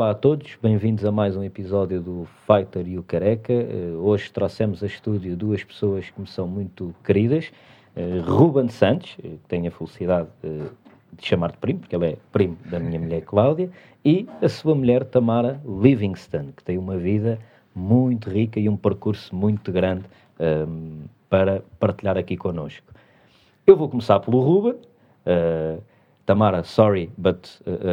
Olá a todos, bem-vindos a mais um episódio do Fighter e o Careca. Hoje trouxemos a estúdio duas pessoas que me são muito queridas. Ruben Santos, que tenho a felicidade de chamar de primo, porque ele é primo da minha mulher Cláudia, e a sua mulher Tamara Livingston, que tem uma vida muito rica e um percurso muito grande para partilhar aqui connosco. Eu vou começar pelo Ruben. Tamara, sorry, but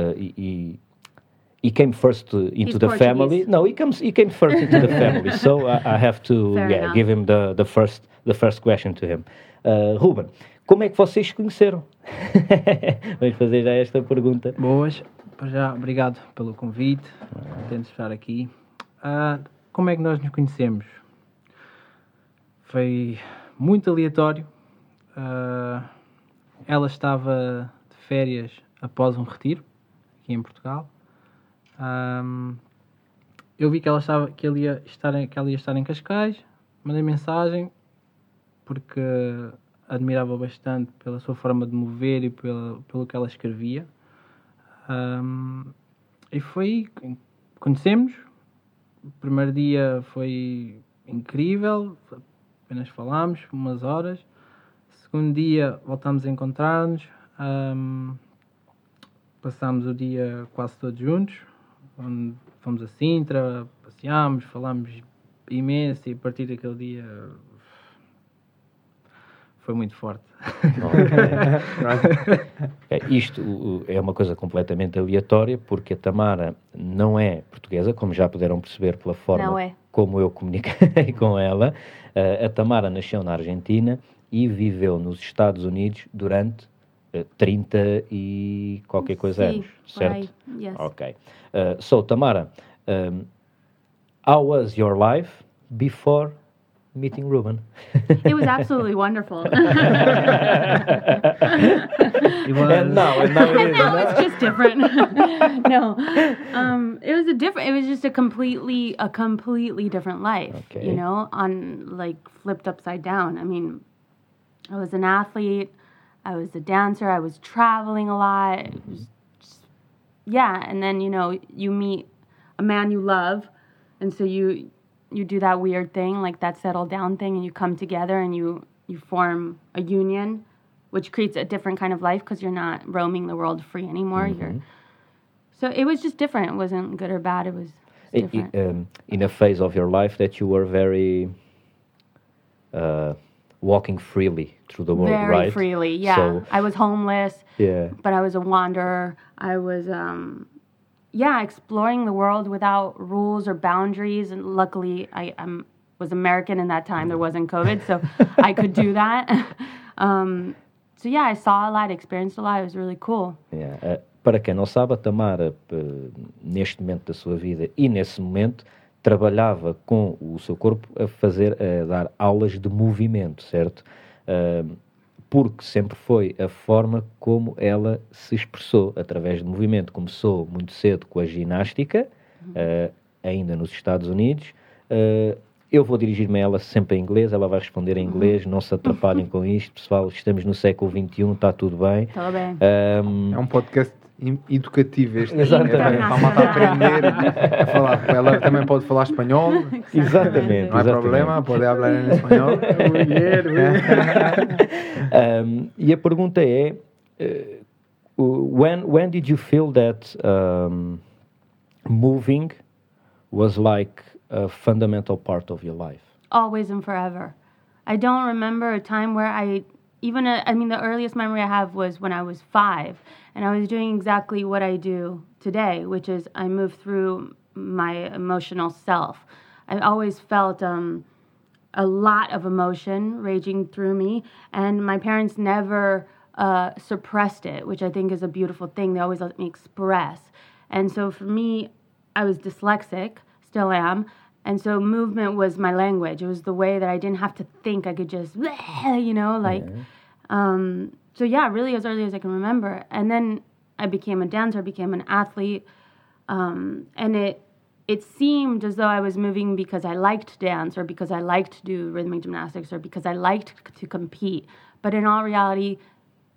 he came first into the family. No, he came first into the family. So I have to give him the first question to him. Ruben, como é que vocês se conheceram? Vamos fazer já esta pergunta. Boas, já obrigado pelo convite. Tento estar aqui. Como é que nós nos conhecemos? Foi muito aleatório. Ela estava de férias após um retiro aqui em Portugal. Eu vi que ela ia estar em Cascais, mandei mensagem porque admirava bastante pela sua forma de mover e pelo que ela escrevia. E conhecemos. O primeiro dia foi incrível, apenas falámos umas horas. Segundo dia voltámos a encontrar-nos, passámos o dia quase todos juntos, onde fomos a Sintra, passeámos, falámos imenso e a partir daquele dia foi muito forte. Isto é uma coisa completamente aleatória, porque a Tamara não é portuguesa, como já puderam perceber pela forma como eu comuniquei com ela. A Tamara nasceu na Argentina e viveu nos Estados Unidos durante 30 e qualquer coisa anos, certo? Yes. Ok. So, Tamara, how was your life before meeting Ruben? It was absolutely wonderful. And now it's just different. No, it was just a completely different life. Okay. You know, on like flipped upside down. I mean, I was an athlete, I was a dancer, I was traveling a lot. It was just, and then you meet a man you love, and so you do that weird thing, like that settle down thing, and you come together and you form a union, which creates a different kind of life because you're not roaming the world free anymore. Mm-hmm. So it was just different. It wasn't good or bad. It was different. In a phase of your life that you were very walking freely through the world, very right? Freely, yeah. So, I was homeless, but I was a wanderer. I was, exploring the world without rules or boundaries. And luckily, I was American in that time. There wasn't COVID, so I could do that. I saw a lot, experienced a lot. It was really cool. Para quem não sabe, a Tamara, neste momento da sua vida e nesse momento, trabalhava com o seu corpo a dar aulas de movimento, certo? Porque sempre foi a forma como ela se expressou, através de movimento. Começou muito cedo com a ginástica, ainda nos Estados Unidos. Eu vou dirigir-me a ela sempre em inglês, ela vai responder em inglês, não se atrapalhem com isto, pessoal, estamos no século XXI, está tudo bem. Está bem. É um podcast educativo este. Exatamente. Para a malta aprender a falar. Ela também pode falar espanhol. Exatamente. Não há problema, pode falar em espanhol. E a pergunta é, when did you feel that moving was like a fundamental part of your life? Always and forever. I don't remember a time where the earliest memory I have was when I was 5, and I was doing exactly what I do today, which is I move through my emotional self. I always felt a lot of emotion raging through me, and my parents never suppressed it, which I think is a beautiful thing. They always let me express. And so for me, I was dyslexic, still am, and so movement was my language. It was the way that I didn't have to think. I could just, really as early as I can remember. And then I became a dancer, became an athlete, and it seemed as though I was moving because I liked to dance or because I liked to do rhythmic gymnastics or because I liked to compete. But in all reality,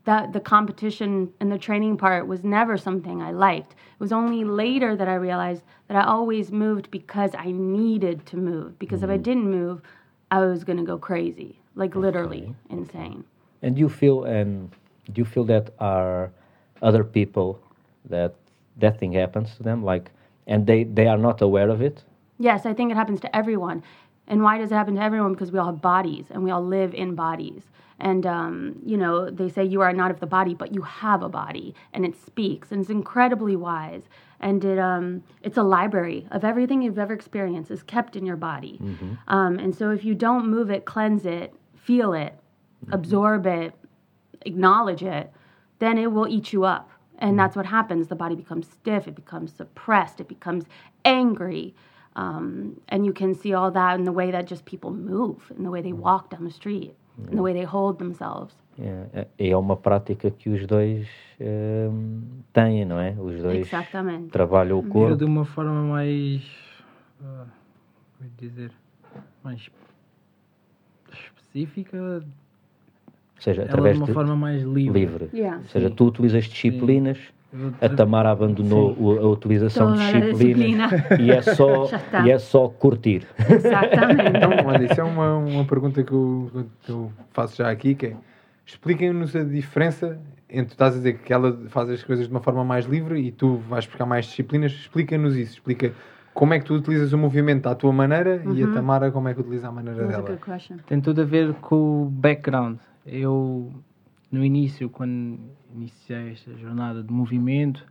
the competition and the training part was never something I liked. It was only later that I realized that I always moved because I needed to move. Because if I didn't move, I was going to go crazy, like literally insane. And do you feel that are other people that thing happens to them, like, and they are not aware of it? Yes, I think it happens to everyone. And why does it happen to everyone? Because we all have bodies and we all live in bodies. And, they say you are not of the body, but you have a body and it speaks and it's incredibly wise. And it's a library of everything you've ever experienced is kept in your body. And so if you don't move it, cleanse it, feel it, absorb it, acknowledge it, then it will eat you up. And that's what happens. The body becomes stiff. It becomes suppressed. It becomes angry. And you can see all that in the way that just people move, in the way they walk down the street, in the way they hold themselves. É uma prática que os dois têm, não é? Os dois Exatamente. trabalham o corpo. De uma forma mais, como dizer, mais específica, Ou seja, ela através de uma forma mais livre. Yeah. Ou seja, tu utilizas disciplinas, a Tamara abandonou a utilização de Toda a disciplinas e é só curtir. Exatamente. Então, olha, isso é uma pergunta que eu faço já aqui, que é, expliquem-nos a diferença entre, estás a dizer que ela faz as coisas de uma forma mais livre e tu vais buscar mais disciplinas, explica-nos isso, explica como é que tu utilizas o movimento à tua maneira e a Tamara como é que utiliza a maneira That's a dela. good question. Tem tudo a ver com o background. Eu, no início, quando iniciei esta jornada de movimento,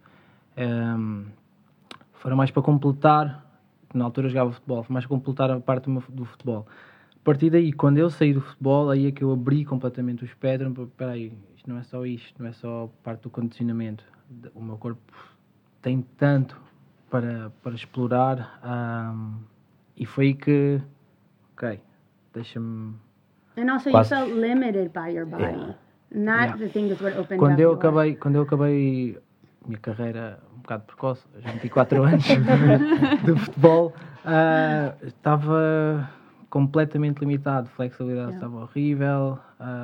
foram mais para completar, na altura eu jogava futebol, foi mais para completar a parte do futebol. A partir daí, quando eu saí do futebol, aí é que eu abri completamente o espectro. Espera aí, isto não é só isto, não é só parte do condicionamento. O meu corpo tem tanto para explorar, e foi aí que, ok, deixa-me... And also you Quase- felt limited by your body. Yeah. And that, Yeah. the thing is what opened Quando up eu your- acabei a minha carreira um bocado precoce, aos 24 anos de futebol, estava completamente limitado, a flexibilidade estava horrível,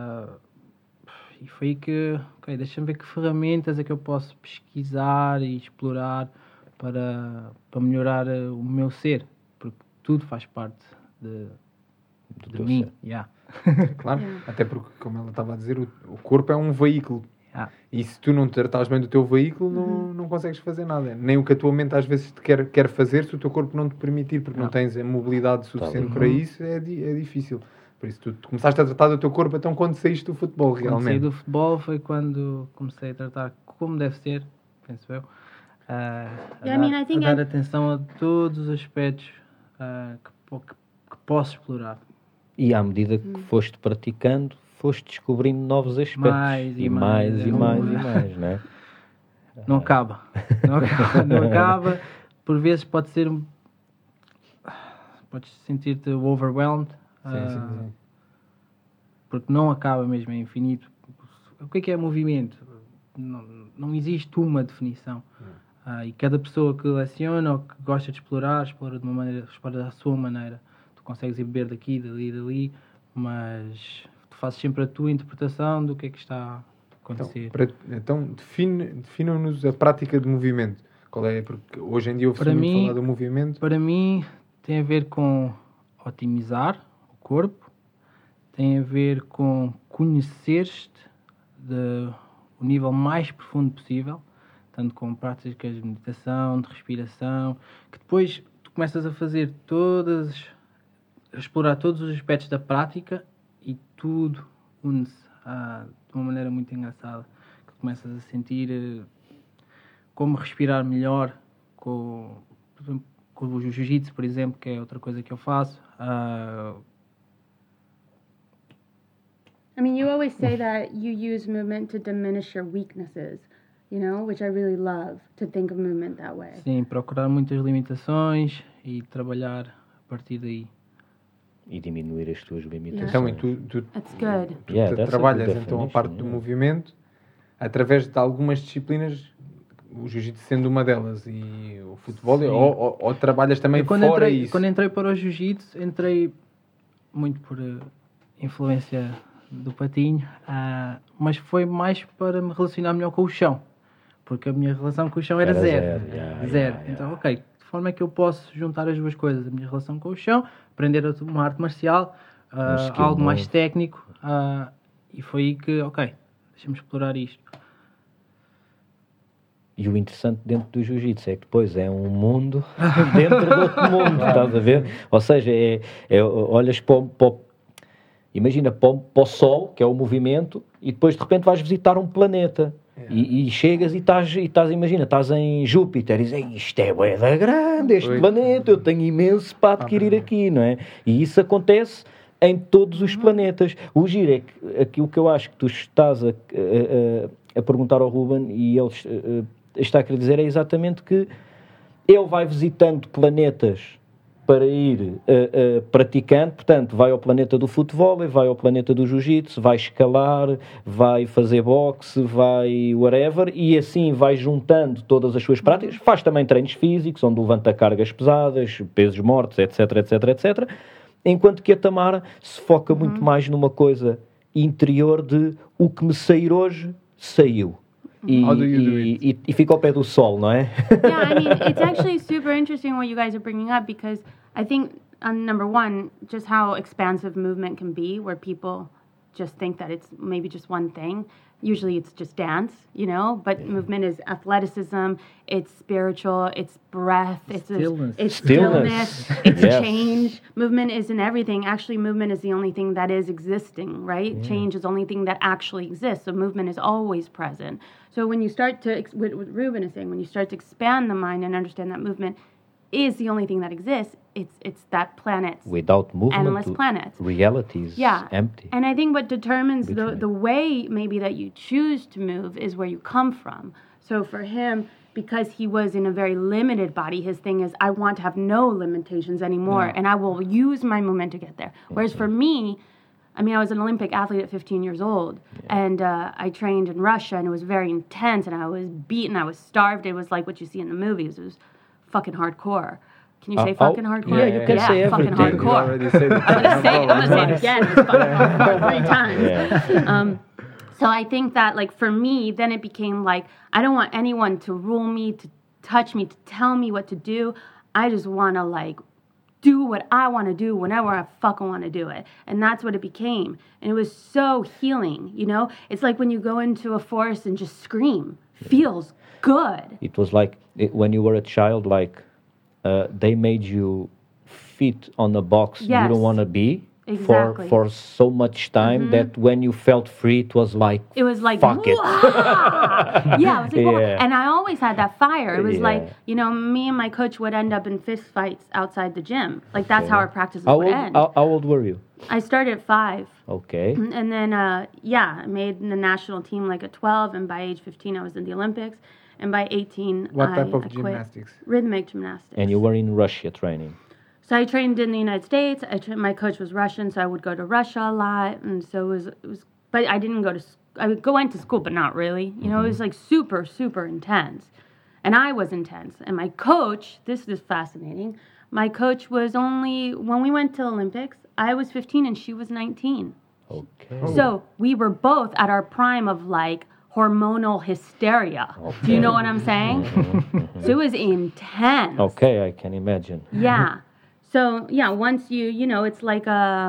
e foi aí que, ok, deixa-me ver que ferramentas é que eu posso pesquisar e explorar para melhorar o meu ser, porque tudo faz parte de teu mim. ser. Yeah. Claro, até porque, como ela estava a dizer, o corpo é um veículo. Yeah. E se tu não tratares bem do teu veículo, não consegues fazer nada. Nem o que a tua mente às vezes te quer fazer, se o teu corpo não te permitir, porque não tens a mobilidade suficiente para isso, é difícil. Por isso, tu começaste a tratar do teu corpo então quando saíste do futebol, Quando saí realmente. do futebol foi quando comecei a tratar como deve ser, penso eu, a dar atenção a todos os aspectos que posso explorar. E à medida que foste praticando, foste descobrindo novos aspectos. Mais e mais, e mais, não é? Não acaba. Não acaba. Por vezes pode ser... Podes sentir-te overwhelmed. Sim. Porque não acaba mesmo, é infinito. O que é movimento? Não existe uma definição. E cada pessoa que leciona ou que gosta de explorar, explora de uma maneira, explora da sua maneira. Tu consegues ir beber daqui, dali, mas tu fazes sempre a tua interpretação do que é que está a acontecer. Então definam-nos a prática de movimento. Qual é? Porque hoje em dia ouve-se Para muito mim- falar do movimento. Para mim, tem a ver com otimizar o corpo, tem a ver com conhecer-te o nível mais profundo possível, tanto com práticas de meditação, de respiração, que depois tu começas a fazer a explorar todos os aspectos da prática e tudo une-se de uma maneira muito engraçada, que começas a sentir como respirar melhor com o jiu-jitsu, por exemplo, que é outra coisa que eu faço. I mean, you always say that you use movement to diminish your weaknesses, which I really love, to think of movement that way. Sim, procurar muitas limitações e trabalhar a partir daí. E diminuir as tuas limitações. Então, e tu That's good. Yeah, that's a trabalhas good então a definition, parte do movimento através de algumas disciplinas, o jiu-jitsu sendo uma delas e o futebol, Sim. ou trabalhas também Quando fora isso? Quando entrei para o jiu-jitsu, entrei muito por influência do Patinho, mas foi mais para me relacionar melhor com o chão. Porque a minha relação com o chão era zero. Zero. Então, ok, de forma é que eu posso juntar as duas coisas. A minha relação com o chão, aprender uma arte marcial, algo mais técnico. E foi aí que, ok, deixa-me explorar isto. E o interessante dentro do jiu-jitsu é que depois é um mundo dentro de outro mundo, estás a ver? Ou seja, olhas imagina para o Sol, que é o movimento, e depois de repente vais visitar um planeta. E chegas e estás, imagina, estás em Júpiter e dizes, isto é bué da grande, este planeta, eu tenho imenso para adquirir aqui, não é? E isso acontece em todos os planetas. O giro é que aquilo que eu acho que tu estás a perguntar ao Ruben e ele está a querer dizer é exatamente que ele vai visitando planetas para ir praticando, portanto, vai ao planeta do futebol, vai ao planeta do jiu-jitsu, vai escalar, vai fazer boxe, vai whatever, e assim vai juntando todas as suas práticas, faz também treinos físicos, onde levanta cargas pesadas, pesos mortos, etc, etc, etc, enquanto que a Tamara se foca muito mais numa coisa interior de o que me sair hoje, saiu. E fica ao pé do sol, não é? Yeah, I mean, it's actually super interesting what you guys are bringing up because I think, number one, just how expansive movement can be, where people just think that it's maybe just one thing. Usually it's just dance, you know, but movement is athleticism, it's spiritual, it's breath, it's stillness, it's change. Movement isn't everything. Actually, movement is the only thing that is existing, right? Yeah. Change is the only thing that actually exists. So movement is always present. So when you start to, what Ruben is saying, when you start to expand the mind and understand that movement is the only thing that exists, it's that planet's without movement, endless planets. Reality is empty. And I think what determines the way maybe that you choose to move is where you come from. So for him, because he was in a very limited body, his thing is, I want to have no limitations anymore, and I will use my movement to get there. Whereas for me, I mean, I was an Olympic athlete at 15 years old, and I trained in Russia, and it was very intense, and I was beaten, I was starved. It was like what you see in the movies. It was fucking hardcore. Can you say fucking hardcore? Yeah, you can say fucking everything. hardcore. I'm gonna say it again. It's fucking hardcore 3 times. Yeah. So I think that, like, for me, then it became like, I don't want anyone to rule me, to touch me, to tell me what to do. I just want to, like, do what I want to do whenever I fucking want to do it. And that's what it became. And it was so healing, you know? It's like when you go into a forest and just scream. Feels good. It was like when you were a child, like they made you fit on a box you don't want to be for so much time that when you felt free, it was like fuck it. Yeah, it was like, and I always had that fire. It was like, you know, me and my coach would end up in fist fights outside the gym. Like that's how our practices would end. How old were you? I started at 5. Okay. And then, I made the national team like at 12, and by age 15, I was in the Olympics. And by 18, what type of gymnastics? Rhythmic gymnastics. And you were in Russia training? So I trained in the United States. My coach was Russian, so I would go to Russia a lot. And so it was but I didn't go to, I went to school, but not really. You know, it was like super, super intense. And I was intense. And my coach, this is fascinating, my coach was only, when we went to Olympics, I was 15 and she was 19. Okay. So we were both at our prime of like hormonal hysteria. Okay. Do you know what I'm saying? So it was intense. Okay, I can imagine. Yeah. So yeah, once you know, it's like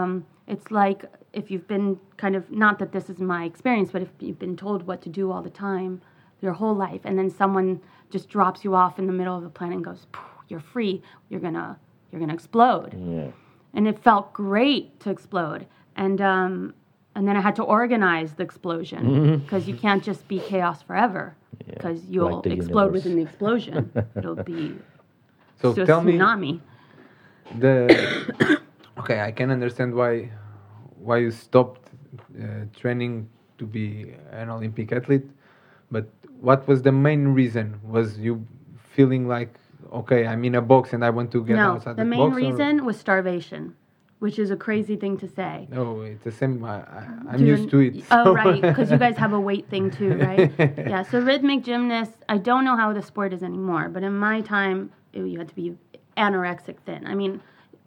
if you've been kind of, not that this is my experience, but if you've been told what to do all the time, your whole life, and then someone just drops you off in the middle of the planet and goes, you're free, you're gonna explode. Yeah. And it felt great to explode. And then I had to organize the explosion because you can't just be chaos forever because you'll like explode within the explosion. It'll be so a tell tsunami. Okay, I can understand why you stopped training to be an Olympic athlete, but what was the main reason? Was you feeling like, okay, I'm in a box and I want to get outside the box? No, the main reason was starvation, which is a crazy thing to say. No, it's the same. I'm used to it. Oh, right, because you guys have a weight thing too, right? Yeah, so rhythmic gymnasts, I don't know how the sport is anymore, but in my time, you had to be anorexic thin. I mean,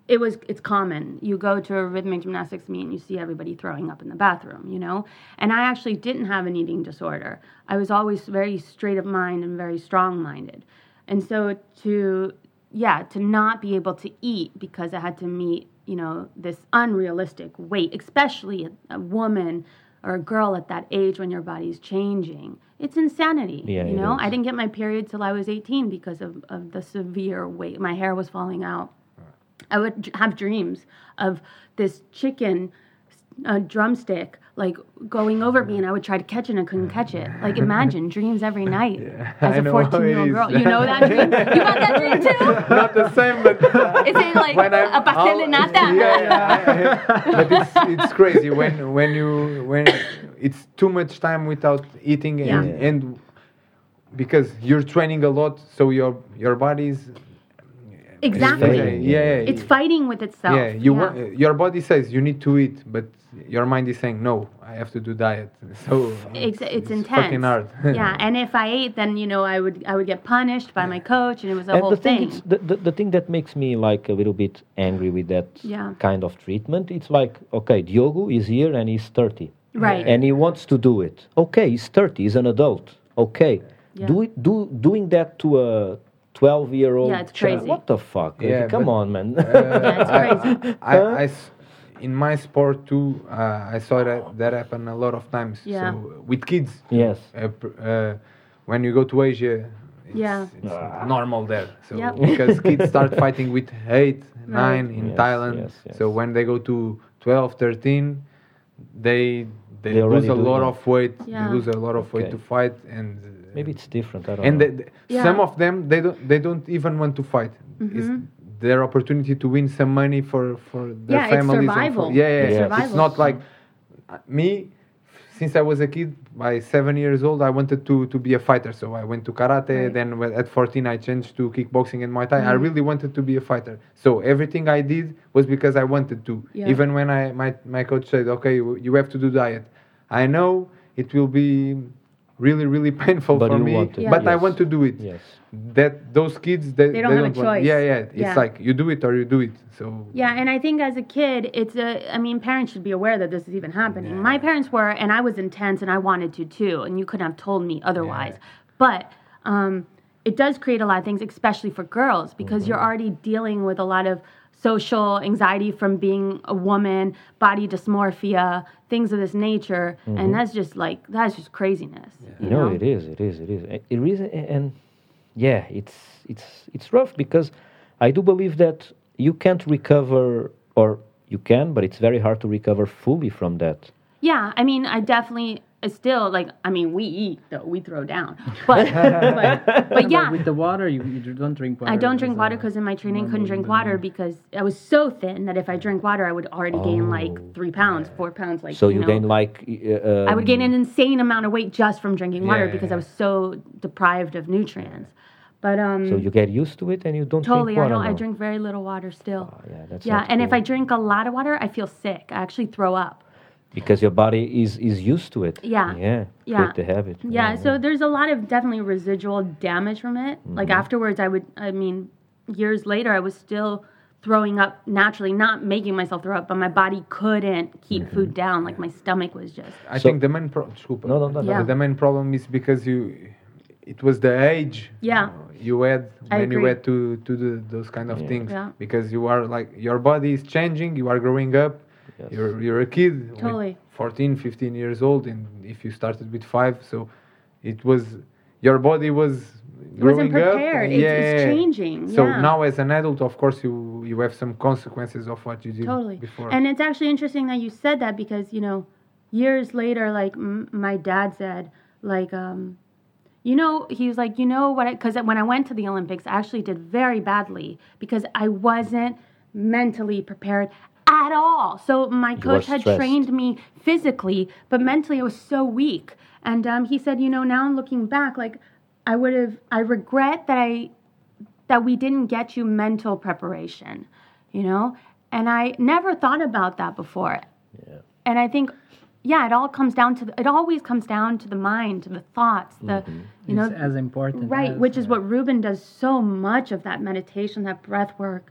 it's common. You go to a rhythmic gymnastics meet and you see everybody throwing up in the bathroom, you know? And I actually didn't have an eating disorder. I was always very straight of mind and very strong-minded. And so to not be able to eat because I had to meet, you know, this unrealistic weight, especially a woman or a girl at that age when your body's changing. It's insanity, Yeah, you it know? is. I didn't get my period till I was 18 because of the severe weight. My hair was falling out. I would have dreams of this chicken drumstick like going over me, and I would try to catch it and I couldn't catch it. Like, imagine dreams every night as I a know how 14-year-old it is. girl. You know that dream? You got that dream too? Not the same, but Is it like when I'm a pastel de nata? but it's crazy when it's too much time without eating and because you're training a lot, so your body's Exactly. failing. It's fighting with itself. Yeah, your body says you need to eat, but your mind is saying no, I have to do diet. So It's intense. fucking hard. Yeah, and if I ate, then you know I would get punished by my coach, and it was a And whole the thing, thing. the thing that makes me like a little bit angry with that Yeah. kind of treatment, it's like, okay, Diogo is here and he's 30. Right. And he wants to do it. Okay, he's 30, he's an adult. Okay. Yeah. Doing that to a 12-year-old Yeah, it's child, crazy. what the fuck? Yeah, Come but- on, man. Yeah, it's crazy. In my sport too, I saw that happen a lot of times. Yeah. So with kids, Yes. when you go to Asia, Yeah. it's normal there. So Yep. because kids start fighting with 8, 9 in Yes, Thailand. yes. So when they go to 12, 13, they They lose already a do lot that. of weight. Yeah. They lose a lot of weight Okay. to fight, and Maybe it's different. I don't and know. Yeah. some of them they don't even want to fight. It's their opportunity to win some money for their Yeah, it's families. and survival. For, yeah. It's It's survival. not like me. Since I was a kid, by 7 years old, I wanted to be a fighter. So I went to karate. Right. Then at 14, I changed to kickboxing and Muay Thai. I really wanted to be a fighter. So everything I did was because I wanted to. Yeah. Even when my coach said, "Okay, you have to do diet," I know it will be really, really painful But for you me, want it. but I Yes. want to do it. Yes. That those kids they don't have a want. choice. Yeah. It's Yeah. like you do it or you do it. So Yeah, and I think as a kid, parents should be aware that this is even happening. My parents were, and I was intense, and I wanted to too, and you couldn't have told me otherwise. But it does create a lot of things, especially for girls, because you're already dealing with a lot of social anxiety from being a woman, body dysmorphia, things of this nature, and that's just craziness. You No, know? it is. It is, and yeah, it's rough because I do believe that you can't recover, or you can, but it's very hard to recover fully from that. Yeah, I mean, I definitely still we eat though, we throw down, but yeah. With the water, you don't drink water. I don't drink water because in my training couldn't drink water because I was so thin that if I drank water, I would already gain like 3 pounds, 4 pounds. Like So you know. gain like I would gain an insane amount of weight just from drinking water Yeah, because yeah. I was so deprived of nutrients. But so you get used to it and you don't totally, drink water. I now. drink very little water still. Yeah, that's Yeah, not and if cool. I drink a lot of water, I feel sick. I actually throw up. Because your body is used to it. Yeah. Yeah. Yeah. Create the habit. Yeah, so there's a lot of definitely residual damage from it. Like afterwards, years later, I was still throwing up naturally, not making myself throw up, but my body couldn't keep food down. Like my stomach was just. I So- think the main desculpa. No. Yeah. The main problem is because it was the age Yeah. you had I when you agree. had to do those kind of things Yeah. because you are like your body is changing, you are growing up. Yes. You're a kid Totally. with 14, 15 years old, and if you started with 5, so it was your body was It wasn't growing up. prepared. It's changing. So yeah. now as an adult, of course, you have some consequences of what you did Totally. before. And it's actually interesting that you said that because, years later, like my dad said, like, he was like, because when I went to the Olympics, I actually did very badly because I wasn't mentally prepared at all. So my coach had stressed. trained me physically, but mentally I was so weak. And he said, now I'm looking back, like I regret that we didn't get you mental preparation, and I never thought about that before. Yeah. And I think, it always comes down to the mind, to the thoughts, It's as important. right, as, which is what Ruben does so much of, that meditation, that breath work,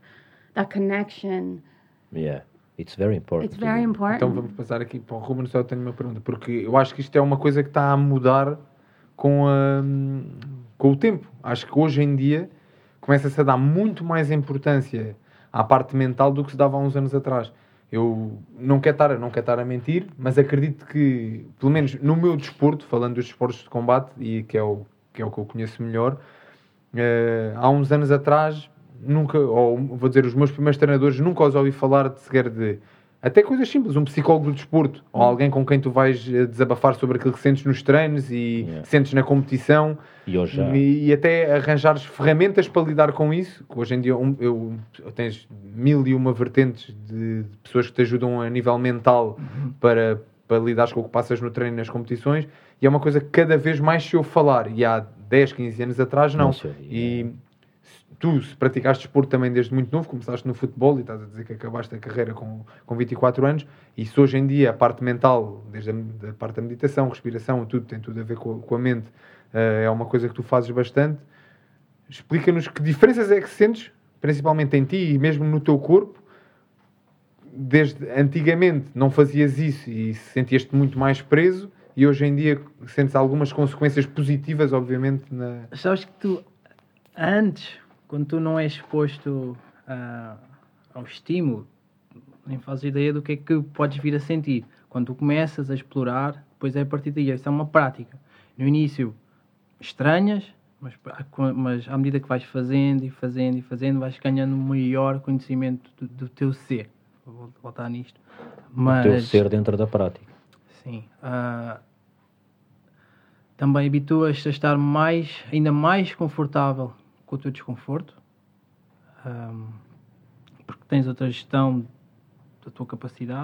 that connection. Yeah, it's very important. It's very important. Então vamos passar aqui para o Ruben, só tenho uma pergunta, porque eu acho que isto é uma coisa que está a mudar com o tempo. Acho que hoje em dia começa-se a dar muito mais importância à parte mental do que se dava há uns anos atrás. Eu não quero estar a mentir, mas acredito que, pelo menos no meu desporto, falando dos desportos de combate, e que é o que eu conheço melhor, há uns anos atrás, nunca, ou vou dizer, os meus primeiros treinadores nunca os ouvi falar sequer de até coisas simples, um psicólogo do desporto, ou alguém com quem tu vais desabafar sobre aquilo que sentes nos treinos e sentes na competição, e até arranjares ferramentas para lidar com isso, que hoje em dia eu tens 1001 vertentes de pessoas que te ajudam a nível mental para lidares com o que passas no treino e nas competições, e é uma coisa que cada vez mais se ouve falar, e há 10, 15 anos atrás não. E tu, se praticaste desporto também desde muito novo, começaste no futebol e estás a dizer que acabaste a carreira com 24 anos, e se hoje em dia a parte mental, desde a parte da meditação, respiração, tudo tem tudo a ver com a mente, é uma coisa que tu fazes bastante. Explica-nos que diferenças é que sentes, principalmente em ti e mesmo no teu corpo. Desde antigamente não fazias isso e sentias-te muito mais preso, e hoje em dia sentes algumas consequências positivas, obviamente. Sabes que tu, antes, quando tu não és exposto ao estímulo, nem fazes ideia do que é que podes vir a sentir. Quando tu começas a explorar, depois é a partir daí. Isso é uma prática. No início, estranhas, mas à medida que vais fazendo, vais ganhando maior conhecimento do teu ser. Vou voltar nisto. O teu ser dentro da prática. Sim. Também habituas-te a estar ainda mais confortável com o teu desconforto, porque tens outra gestão da tua capacidade.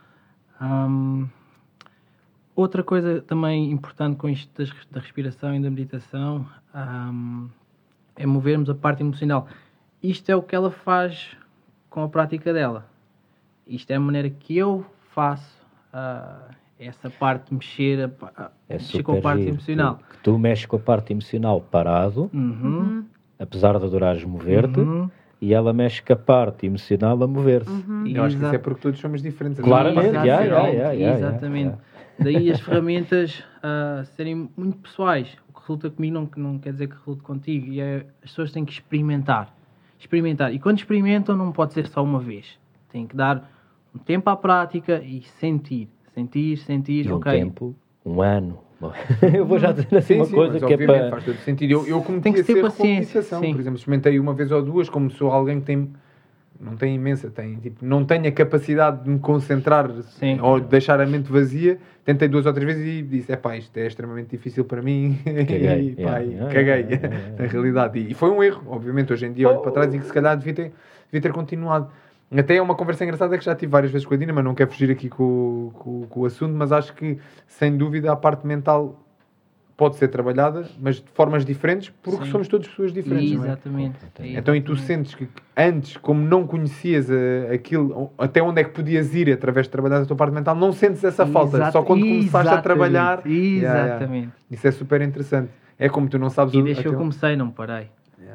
Outra coisa também importante com isto da respiração e da meditação é movermos a parte emocional. Isto é o que ela faz com a prática dela. Isto é a maneira que eu faço essa parte de mexer com a parte emocional. Tu mexes com a parte emocional parado, apesar de adorares mover-te, e ela mexe com a parte emocional a mover-se. Eu acho que isso é porque todos somos diferentes. Claramente, exatamente. Daí as ferramentas serem muito pessoais. O que resulta comigo não quer dizer que resulte contigo. E as pessoas têm que experimentar. E quando experimentam não pode ser só uma vez. Tem que dar um tempo à prática e sentir. E um okay. tempo, um ano. Eu vou já dizer assim uma coisa que é para... faz todo sentido. Eu cometi a ser competição. Por exemplo, experimentei uma vez ou duas, como sou alguém que não tem imensa, não tem a capacidade de me concentrar ou de deixar a mente vazia. Tentei 2 ou 3 vezes e disse, isto é extremamente difícil para mim. Caguei, na realidade. E foi um erro, obviamente. Hoje em dia olho para trás e que se calhar devia ter continuado. Até é uma conversa engraçada que já tive várias vezes com a Dina, mas não quero fugir aqui com o assunto, mas acho que, sem dúvida, a parte mental pode ser trabalhada, mas de formas diferentes, porque somos todos pessoas diferentes. Exatamente. Não é? Então, e tu sentes que antes, como não conhecias aquilo, até onde é que podias ir através de trabalhar a tua parte mental, não sentes essa falta. Só quando começaste a trabalhar... Exatamente. Isso é super interessante. É como tu não sabes... E desde que eu comecei, não parei.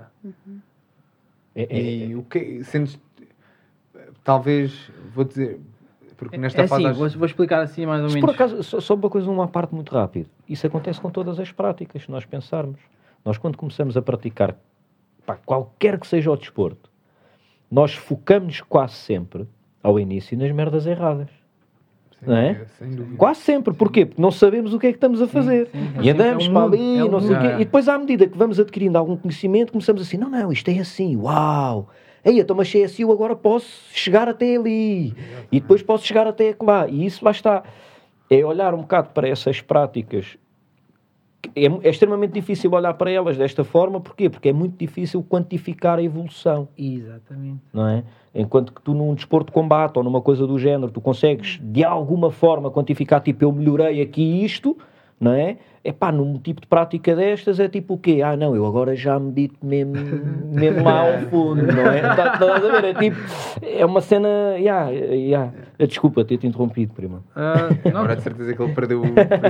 E o que sentes... Talvez, vou dizer, porque nesta fase... Vou explicar assim mais ou menos. Por acaso, só uma parte muito rápida. Isso acontece com todas as práticas, se nós pensarmos. Nós, quando começamos a praticar qualquer que seja o desporto, nós focamos quase sempre, ao início, nas merdas erradas. Não é? Sem dúvida. Quase sempre. Porquê? Porque não sabemos o que é que estamos a fazer. E andamos para ali, não sei o quê. E depois, à medida que vamos adquirindo algum conhecimento, começamos assim, não, isto é assim, uau... então, mas se é assim, eu agora posso chegar até ali. E depois posso chegar até lá. E isso lá está. É olhar um bocado para essas práticas. É extremamente difícil olhar para elas desta forma. Porquê? Porque é muito difícil quantificar a evolução. Exatamente. Não é? Enquanto que tu num desporto de combate ou numa coisa do género, tu consegues de alguma forma quantificar, tipo, eu melhorei aqui isto, não é? Epá, num tipo de prática destas é tipo o quê? Ah, não, eu agora já medito mesmo lá ao fundo, não é? Estás a ver? É tipo, é uma cena, desculpa ter-te interrompido, prima. Agora de certeza que ele perdeu o...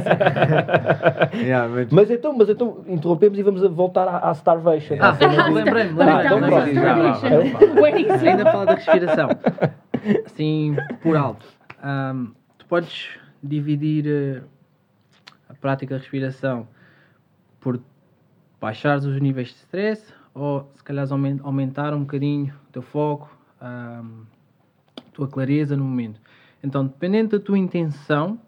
Mas então, interrompemos e vamos voltar à Starvation. Lembrei-me. Então, Ainda fala da respiração. Assim, por alto. Tu podes dividir a prática de respiração por baixares os níveis de stress ou se calhar aumentar um bocadinho o teu foco, a tua clareza no momento. Então, dependendo da tua intenção,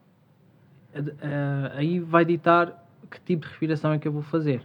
aí vai ditar que tipo de respiração é que eu vou fazer.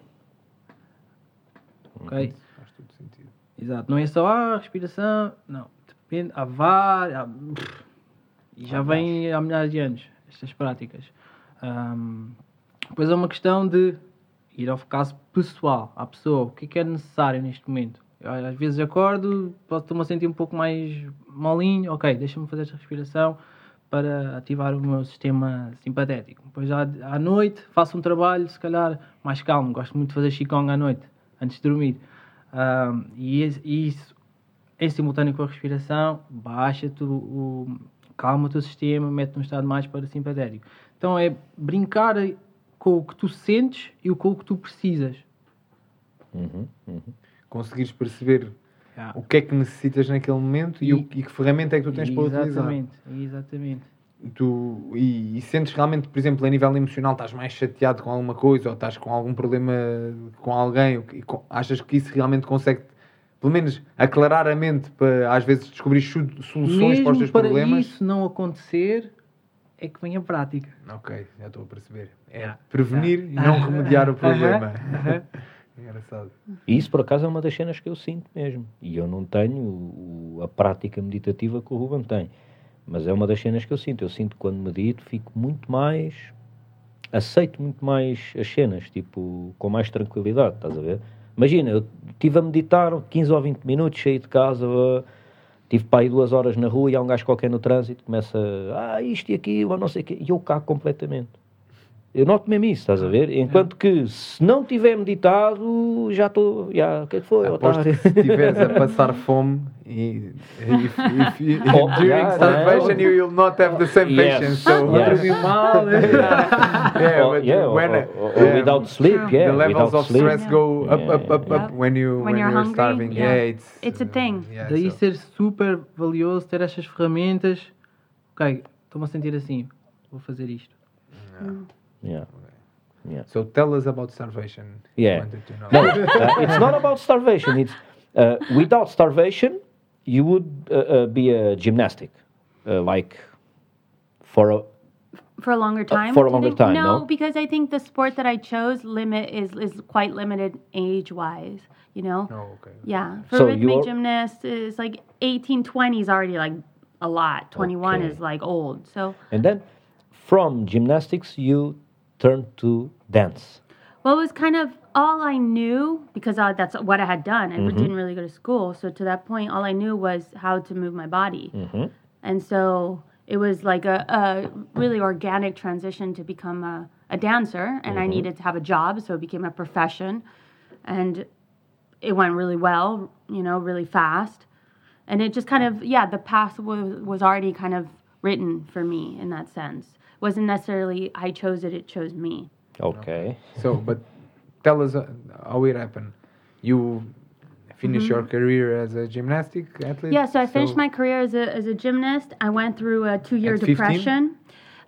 Ok? Faz todo sentido. Exato. Não é só respiração. Não. Depende. Há várias. E já vem há milhares de anos estas práticas. Depois é uma questão de ir ao caso pessoal, à pessoa. O que é necessário neste momento? Eu, às vezes acordo, posso-me a sentir um pouco mais molinho. Ok, deixa-me fazer esta respiração para ativar o meu sistema simpatético. Depois à noite faço um trabalho, se calhar, mais calmo. Gosto muito de fazer Qigong à noite, antes de dormir. E isso, em simultâneo com a respiração, baixa-te calma o teu sistema, mete-te num estado mais parasimpatético. Então é brincar com o que tu sentes e com o que tu precisas. Conseguires perceber o que é que necessitas naquele momento e que ferramenta é que tu tens para utilizar. Exatamente. E sentes realmente, por exemplo, a nível emocional, estás mais chateado com alguma coisa ou estás com algum problema com alguém, achas que isso realmente consegue, pelo menos, aclarar a mente para, às vezes, descobrir soluções Mesmo para os teus problemas? Para isso não acontecer, é que vem a prática. Ok, já estou a perceber. É prevenir e não remediar o problema. Engraçado. E isso, por acaso, é uma das cenas que eu sinto mesmo. E eu não tenho a prática meditativa que o Ruben tem. Mas é uma das cenas que eu sinto. Eu sinto que quando medito, fico muito mais... Aceito muito mais as cenas, tipo, com mais tranquilidade, estás a ver? Imagina, eu estive a meditar 15 ou 20 minutos, saí de casa, tive para aí 2 horas na rua e há um gajo qualquer no trânsito, começa, isto e aquilo, ou não sei o quê, e eu cago completamente. Eu noto mesmo isso, estás a ver? Enquanto que, se não tiver meditado, já estou... o que é que foi? Aposto que se estiveres a passar fome during starvation, you will not have the same patience. So, without sleep, the levels without of sleep. stress go up when you're hungry, starving. It's a thing. Daí ser super valioso ter estas ferramentas. Ok, estou-me a sentir assim, vou fazer isto. Yeah. So tell us about starvation. Yeah. Wanted to know. No, it's not about starvation. It's without starvation, you would be a gymnastic, like for a longer time. For a longer time, no, no? because I think the sport that I chose is quite limited age-wise. You know. Oh, okay. Yeah, for So rhythmic gymnast is like 18, 20 is already like a lot. 21 Okay. is like old. So. And then from gymnastics, you turn to dance. Well, it was kind of all I knew because that's what I had done. I didn't really go to school. So to that point, all I knew was how to move my body. And so it was like a really organic transition to become a dancer. And I needed to have a job. So it became a profession. And it went really well, really fast. And it just kind of, the path was already kind of written for me in that sense. It wasn't necessarily I chose it, it chose me. Okay. So, but tell us how it happened. You finished your career as a gymnastic athlete? Yeah, so I finished my career as a gymnast. I went through a 2-year At 15? depression.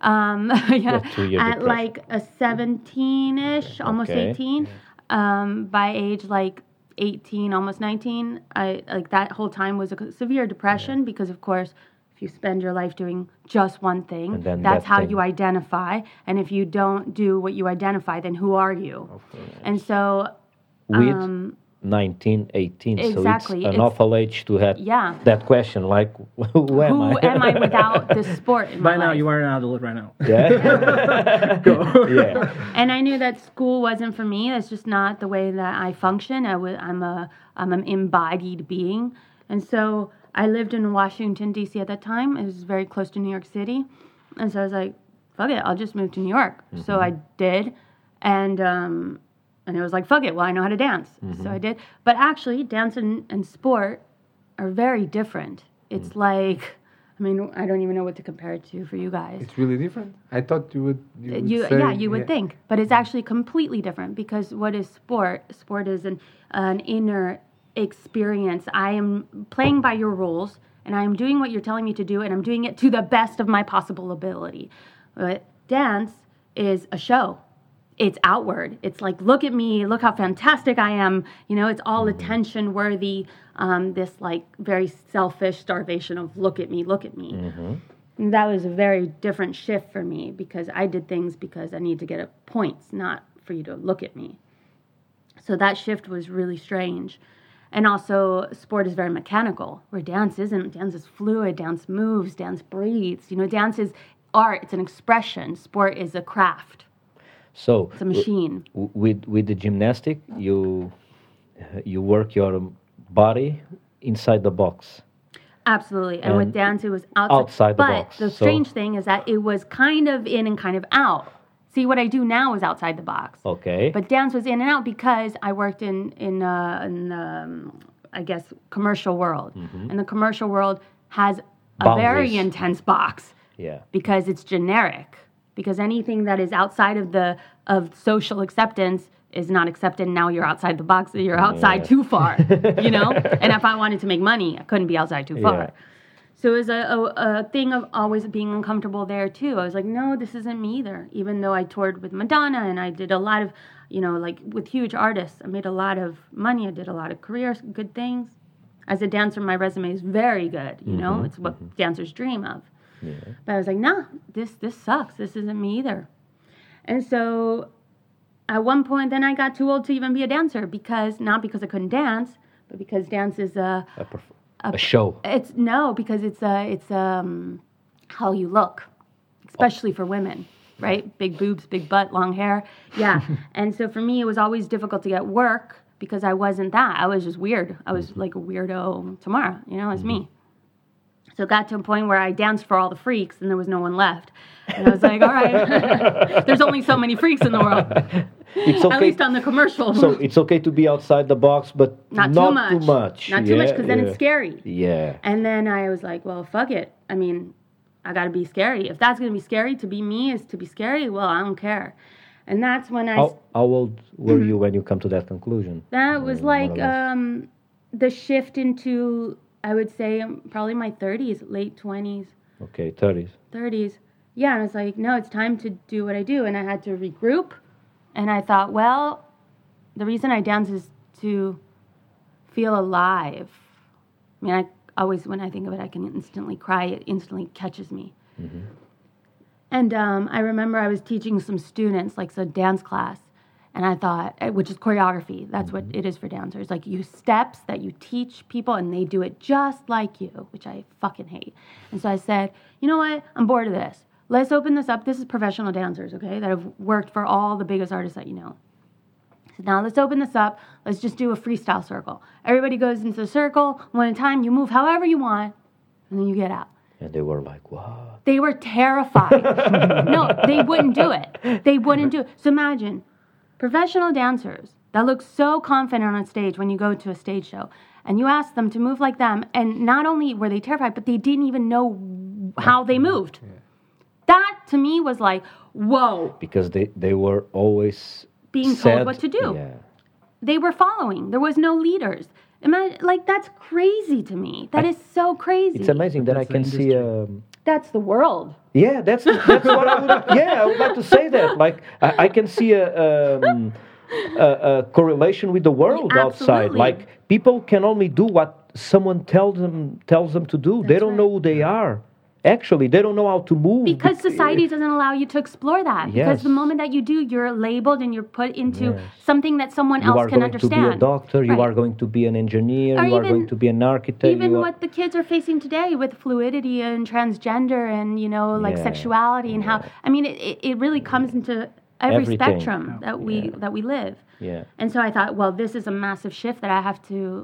2-year At depression. like a 17-ish, almost Okay. 18. By age like 18, almost 19, that whole time was a severe depression because, of course, if you spend your life doing just one thing, And then that's that how thing. you identify. And if you don't do what you identify, then who are you? And so, With 19, 18, exactly, so it's an it's- awful age to have Yeah. that question, like, who am I? who am I without this sport in my By now, life? you are an adult right now. Yeah. Yeah. And I knew that school wasn't for me. That's just not the way that I function. I'm an embodied being. And so I lived in Washington, D.C. at that time. It was very close to New York City. And so I was like, fuck it, I'll just move to New York. So I did, and it was like, fuck it, well, I know how to dance. So I did. But actually, dance and sport are very different. It's like, I mean, I don't even know what to compare it to for you guys. It's really different. I thought you would say, you would think, but it's actually completely different, because what is sport? Sport is an inner experience. I am playing by your rules, and I am doing what you're telling me to do, and I'm doing it to the best of my possible ability. But dance is a show. It's outward. It's like, look at me, look how fantastic I am. You know, it's all attention worthy. This like very selfish starvation of look at me, look at me. And that was a very different shift for me, because I did things because I need to get points, not for you to look at me. So that shift was really strange. And also, sport is very mechanical, where dance isn't. Dance is fluid, dance moves, dance breathes. You know, dance is art, it's an expression. Sport is a craft. So it's a machine. With the gymnastic, you work your body inside the box. Absolutely. And with dance, it was outside the box. But the strange thing is that it was kind of in and kind of out. See, what I do now is outside the box. Okay. But dance was in and out because I worked in I guess, commercial world. And the commercial world has a very intense box. Yeah. Because it's generic. Because anything that is outside of social acceptance is not accepted. Now you're outside the box. You're outside too far, you know? And if I wanted to make money, I couldn't be outside too far. Yeah. So it was a thing of always being uncomfortable there, too. I was like, no, this isn't me either. Even though I toured with Madonna and I did a lot of, you know, like with huge artists, I made a lot of money. I did a lot of careers, good things. As a dancer, my resume is very good, you know? It's what dancers dream of. Yeah. But I was like, nah, this sucks. This isn't me either. And so at one point, then I got too old to even be a dancer, not because I couldn't dance, but because dance is a show. Because it's how you look, especially for women, right? Big boobs, big butt, long hair. Yeah. And so for me, it was always difficult to get work because I wasn't that. I was just weird. I was like a weirdo tomorrow, you know, it's me. So it got to a point where I danced for all the freaks and there was no one left. And I was like, all right, there's only so many freaks in the world. It's okay. At least on the commercial. So it's okay to be outside the box, but not too much. Not too much, because then it's scary. Yeah. And then I was like, well, fuck it. I mean, I got to be scary. If that's going to be scary, to be me is to be scary, well, I don't care. And that's when How old were you when you come to that conclusion? That was like the shift into, I would say, probably my 30s, late 20s. Okay, 30s. 30s. Yeah, and I was like, no, it's time to do what I do. And I had to regroup. And I thought, well, the reason I dance is to feel alive. I mean, I always, when I think of it, I can instantly cry. It instantly catches me. And I remember I was teaching some students, like a dance class. And I thought, which is choreography. That's what it is for dancers. Like steps that you teach people and they do it just like you, which I fucking hate. And so I said, you know what? I'm bored of this. Let's open this up. This is professional dancers, okay, that have worked for all the biggest artists that you know. So now let's open this up. Let's just do a freestyle circle. Everybody goes into the circle. One at a time. You move however you want. And then you get out. And they were like, what? They were terrified. No, they wouldn't do it. They wouldn't do it. So imagine professional dancers that look so confident on stage when you go to a stage show. And you ask them to move like them. And not only were they terrified, but they didn't even know how they moved. Yeah. That, to me, was like, whoa. Because they were always being told what to do. Yeah. They were following. There was no leaders. Imagine, like, that's crazy to me. That is so crazy. It's amazing that I can see... That's the world. Yeah, that's what I would... Yeah, I would like to say that. Like, I can see a correlation with the world outside. Like, people can only do what someone tells them to do. They don't know who they are. Actually, they don't know how to move. Because society doesn't allow you to explore that. Yes. Because the moment that you do, you're labeled and you're put into something that someone else can understand. You are going to be a doctor, you are going to be an engineer, you are going to be an architect. Even what the kids are facing today with fluidity and transgender and, you know, like sexuality and how... I mean, it really comes into every spectrum that we live. Yeah. And so I thought, well, this is a massive shift that I have to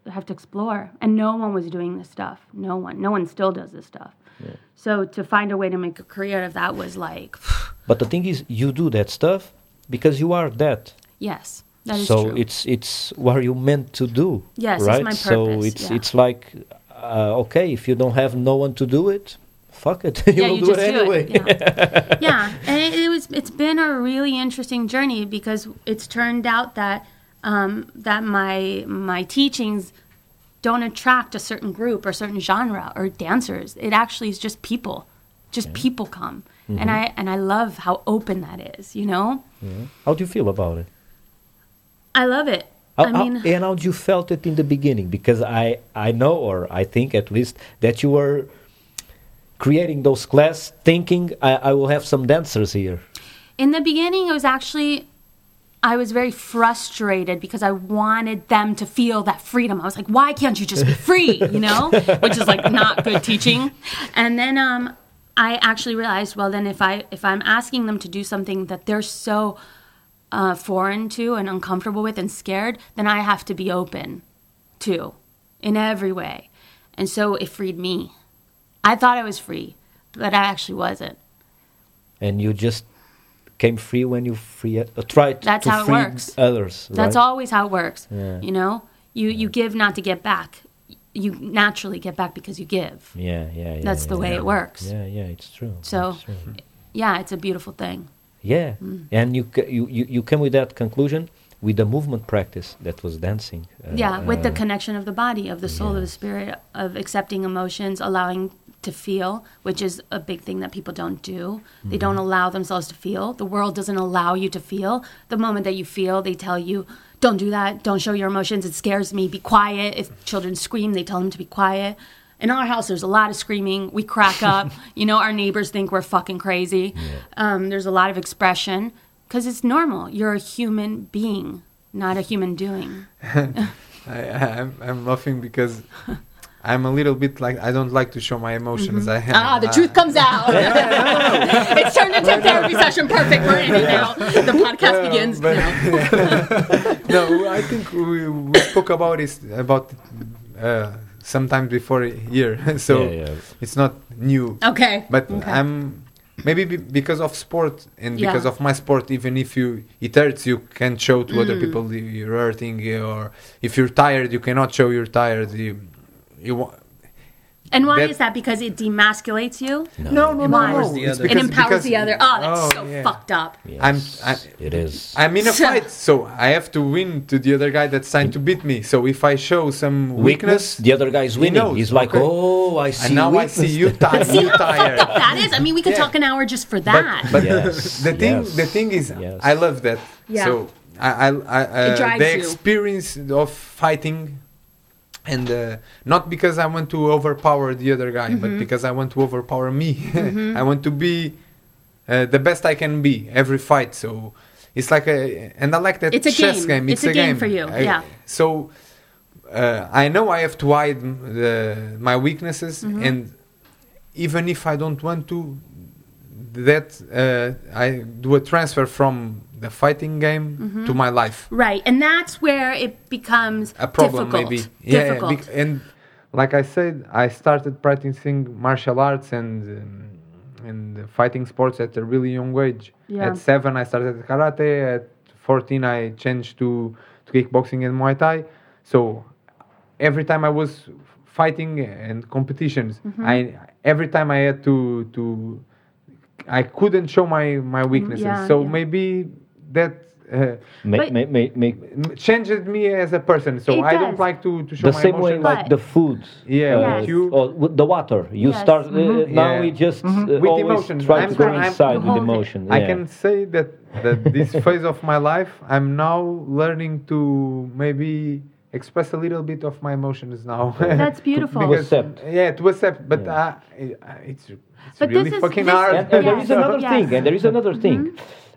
have to explore. And no one was doing this stuff. No one still does this stuff. Yeah. So to find a way to make a career of that was like, But the thing is, you do that stuff because you are that. yes, that is So true. it's what you meant to do. Yes, it's right? my So purpose, yeah. it's like okay, if you don't have no one to do it, fuck it, you will you do just it anyway. Yeah, and it's been a really interesting journey because it's turned out that that my teachings don't attract a certain group or certain genre or dancers. It actually is just people. Just people come. Mm-hmm. And I love how open that is, you know? Yeah. How do you feel about it? I love it. And how you felt it in the beginning? Because I know, or I think at least, that you were creating those classes thinking I will have some dancers here. In the beginning, it was actually, I was very frustrated because I wanted them to feel that freedom. I was like, why can't you just be free, you know? Which is like not good teaching. And then I actually realized, well, then if I'm asking them to do something that they're so foreign to and uncomfortable with and scared, then I have to be open to in every way. And so it freed me. I thought I was free, but I actually wasn't. And you just came free when you tried That's to how it free works. others. That's right? always how it works. Yeah. You know, you give not to get back. You naturally get back because you give. Yeah. That's the way it works. Yeah, it's true. So, It's true. yeah, it's a beautiful thing. Yeah, and you came with that conclusion with the movement practice that was dancing. With the connection of the body, of the soul, of the spirit, of accepting emotions, allowing to feel, which is a big thing that people don't do. They don't allow themselves to feel. The world doesn't allow you to feel. The moment that you feel, they tell you, don't do that, don't show your emotions, it scares me, be quiet. If children scream, they tell them to be quiet. In our house, there's a lot of screaming. We crack up. You know, our neighbors think we're fucking crazy. There's a lot of expression because it's normal. You're a human being, not a human doing. I'm laughing because I'm a little bit like, I don't like to show my emotions. The truth comes out. It's turned into a therapy session. Perfect. We're in it now. The podcast begins. No, I think we spoke about it sometimes before here, so it's not new. Okay. But I'm maybe because of sport and because of my sport, even if it hurts, you can show to other people you're hurting, or if you're tired, you cannot show you're tired. And why is that? Because it demasculates you? No. It It empowers the other. Oh, that's so yeah. fucked up. Yes, it is. I'm in a fight, so I have to win to the other guy that's trying to beat me. So if I show some weakness, the other guy is winning. knows, He's like, okay. oh, I see. and now weakness. I see you tired. See You how fucked tired. up that is? I mean, we could Yeah. talk an hour just for that. But Yes, the thing is, yes. I love that. Yeah. So I It drives the you. experience of fighting, and not because I want to overpower the other guy, Mm-hmm. but because I want to overpower me. I want to be the best I can be every fight. So it's like and I like that It's a chess game. game. It's a game for you, yeah. So I know I have to hide my weaknesses, Mm-hmm. and even if I don't want to, that I do a transfer from the fighting game to my life. Right. And that's where it becomes A problem, difficult. maybe. Difficult. And like I said, I started practicing martial arts and fighting sports at a really young age. Yeah. At 7, I started karate. At 14, I changed to kickboxing and Muay Thai. So every time I was fighting and competitions, every time I had to I couldn't show my weaknesses. So maybe that changed me as a person. So It I don't does. like to show The my same way emotions. like the food. Yes. With the water. You Yes. start now Yeah. we just With always emotions. try I'm to go trying- inside to with hold it. emotion. I yeah. can say that this phase of my life, I'm now learning to maybe express a little bit of my emotions now. That's beautiful. To accept. Yeah, to accept. But it's But really this is- fucking this- hard. And there Yes. is another Yes. thing. And there is another thing.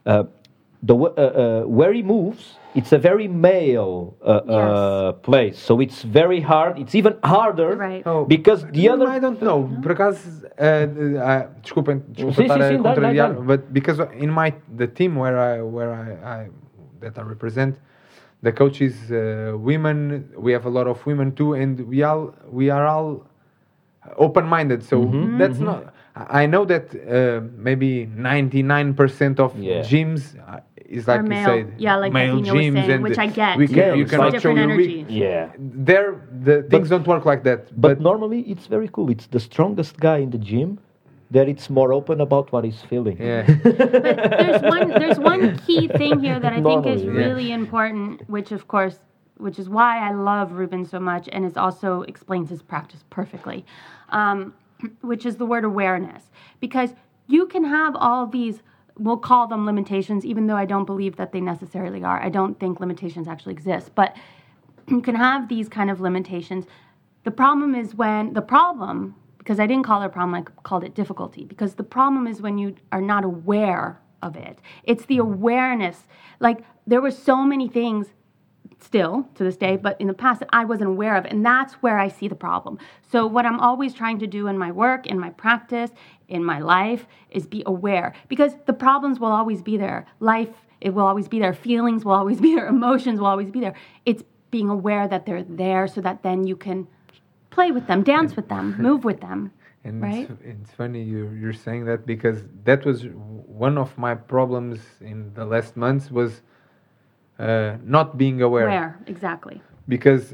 Where he moves, it's a very male place. So it's very hard. It's even harder Right. because the other. I don't know. Por acaso, desculpa Sim, estar sim, a sim, dá, contrariar, dá. but because in the team where I that I represent, the coaches, women. We have a lot of women too, and we are all open-minded. So that's not. I know that maybe 99% of Yeah. gyms is like Or you male. said, Yeah, like male Athena was gyms, saying, and which I get. We too. can, you It's cannot show different your energy. weak. Yeah. There, the things don't work like that. But normally it's very cool. It's the strongest guy in the gym that it's more open about what he's feeling. yeah, But there's one key thing here that I think is Normally, yeah. really important, which is why I love Ruben so much, and it also explains his practice perfectly, which is the word awareness. Because you can have all these, we'll call them limitations, even though I don't believe that they necessarily are. I don't think limitations actually exist, but you can have these kind of limitations. The problem is because I didn't call it a problem, I called it difficulty. Because the problem is when you are not aware of it. It's the awareness. Like, there were so many things still to this day, but in the past that I wasn't aware of. And that's where I see the problem. So what I'm always trying to do in my work, in my practice, in my life, is be aware. Because the problems will always be there. Life, it will always be there. Feelings will always be there. Emotions will always be there. It's being aware that they're there so that then you can play with them, dance with them, move with them. and Right? it's funny you're saying that, because that was one of my problems in the last months, was not being aware. Where, exactly. Because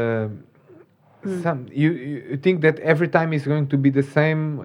some you think that every time is going to be the same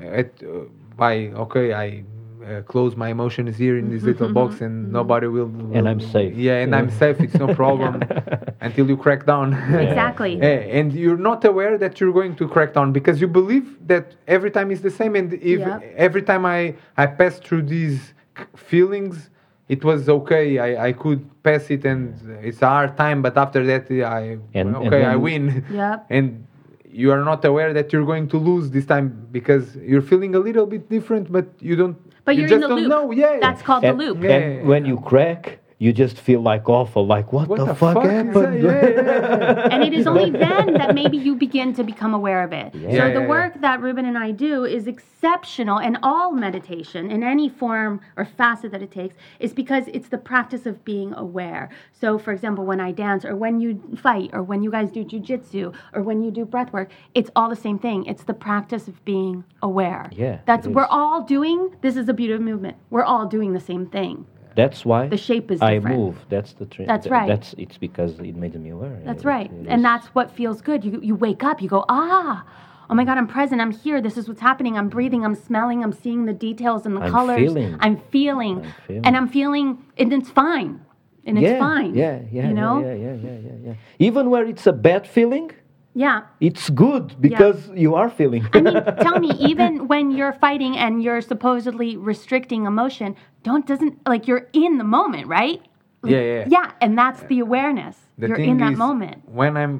I close my emotions here in this little box and nobody will And I'm safe. Yeah, and I'm safe, it's no problem until you crack down. Exactly. And you're not aware that you're going to crack down, because you believe that every time is the same, and if Yep. every time I pass through these feelings, it was okay. I could pass it, and it's a hard time, but after that I And win. Yep. And you are not aware that you're going to lose this time, because you're feeling a little bit different, but you don't. But you you're just in the don't loop. know. Yeah. That's called the loop. Yeah. And when you crack, you just feel like awful, like what the fuck is that? happened? Yeah. And it is only then that maybe you begin to become aware of it. Yeah. So Yeah, the yeah, work that Ruben and I do is exceptional, and all meditation in any form or facet that it takes is because it's the practice of being aware. So for example, when I dance, or when you fight, or when you guys do jujitsu, or when you do breath work, it's all the same thing. It's the practice of being aware. Yeah, That's it we're is. all doing, this is the beauty of movement. We're all doing the same thing. That's why The shape is I different. move. That's the trend. That's right. It's because it made me aware. That's It- right. it And is- that's what feels good. You wake up, you go, oh my God, I'm present, I'm here, this is what's happening, I'm breathing, I'm smelling, I'm seeing the details and the I'm colors. feeling. I'm feeling. I'm feeling. And I'm feeling, and it's fine. And it's fine. Yeah, You know? yeah. Even where it's a bad feeling, Yeah. it's good because you are feeling. I mean, tell me, even when you're fighting and you're supposedly restricting emotion, you're in the moment, right? Like, Yeah. Yeah, and that's the awareness. You're in that moment. When I'm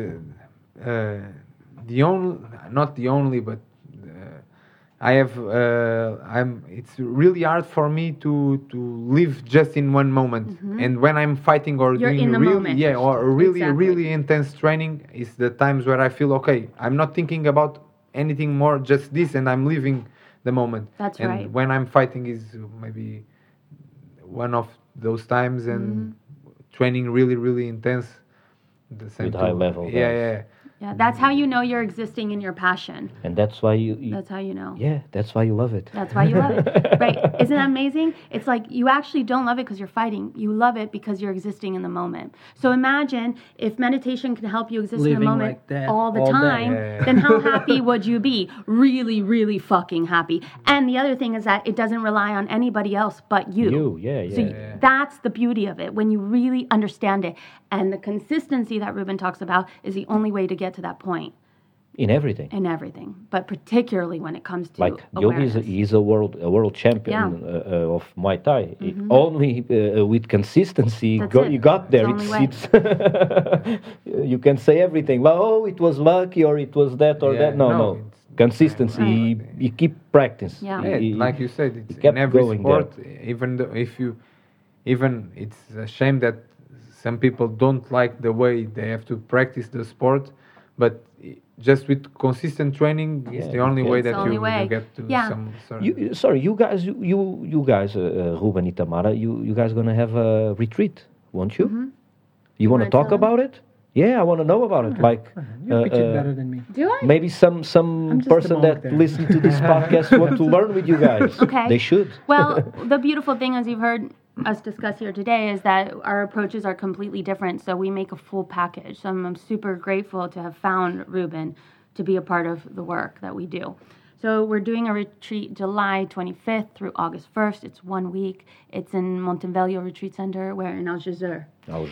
the only, not the only, but I have it's really hard for me to live just in one moment. And when I'm fighting or You're doing in the really moment. or really Exactly. really intense training, is the times where I feel okay. I'm not thinking about anything more, just this, and I'm living the moment. That's and right. when I'm fighting is maybe one of those times, and training really really intense. The same With high too. level Yeah, guys. yeah. Yeah, that's how you know you're existing in your passion. And that's why you That's how you know. yeah, that's why you love it. That's why you love it. Right. Isn't that amazing? It's like you actually don't love it because you're fighting. You love it because you're existing in the moment. So imagine if meditation can help you exist in Living the moment like that all the all day. time, Yeah. then how happy would you be? Really, really fucking happy. And the other thing is that it doesn't rely on anybody else but you. You, yeah. So that's the beauty of it when you really understand it. And the consistency that Ruben talks about is the only way to get to that point In everything. in everything, but particularly when it comes to Like Yogi awareness. is a world champion of Muay Thai. Only with consistency, That's you it. got there. It's the only It's you can say everything. Well, oh, it was lucky, or it was that, or Yeah, that. No, no, no. Consistency. Right. You keep practice. Yeah. Yeah, like you said, it's kept in every going sport. Even though it's a shame that some people don't like the way they have to practice the sport, but just with consistent training, it's the only way It's that the only you way. get to Yeah. some sort. You guys, Ruben and Tamara, you guys gonna have a retreat, won't you? You want to Wanna talk tell 'em? about it? Yeah, I want to know about it. Like, You pitch it better than me. Do I? maybe some I'm just a person monk that there. listen to this podcast want to learn with you guys. Okay. They should. Well, the beautiful thing, as you've heard us discuss here today, is that our approaches are completely different. So we make a full package. So I'm super grateful to have found Ruben to be a part of the work that we do. So we're doing a retreat July 25th through August 1st. It's 1 week. It's in Montevideo Retreat Center, where in Algeciras.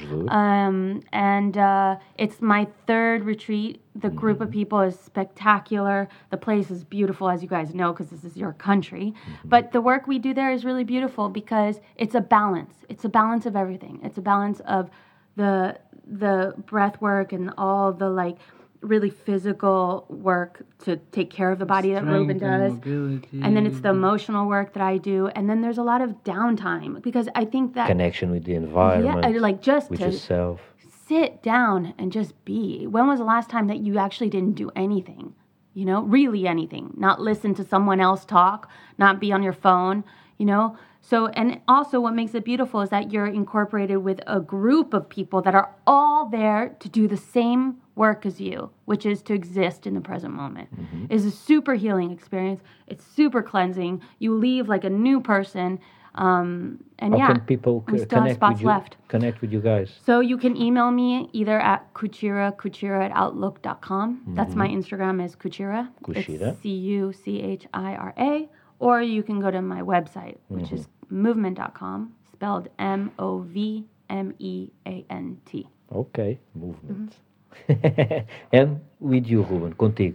It's my third retreat. The group of people is spectacular. The place is beautiful, as you guys know, because this is your country. But the work we do there is really beautiful because it's a balance. It's a balance of everything. It's a balance of the breath work and all the really physical work to take care of the body that Ruben does. And then it's the emotional work that I do. And then there's a lot of downtime because I think that Connection with the environment. Yeah, just with to yourself. sit down and just be. When was the last time that you actually didn't do anything? Really anything. Not listen to someone else talk, not be on your phone, So, and also what makes it beautiful is that you're incorporated with a group of people that are all there to do the same work as you, which is to exist in the present moment. It's a super healing experience. It's super cleansing. You leave like a new person. How can people we still have spots left. Connect with you guys? So you can email me either at kuchira@outlook.com. That's my Instagram is Kuchira. Kuchira. It's Cuchira. Or you can go to my website, which is movement.com, spelled Movement. Ok, movement. And with you, Ruben, contigo.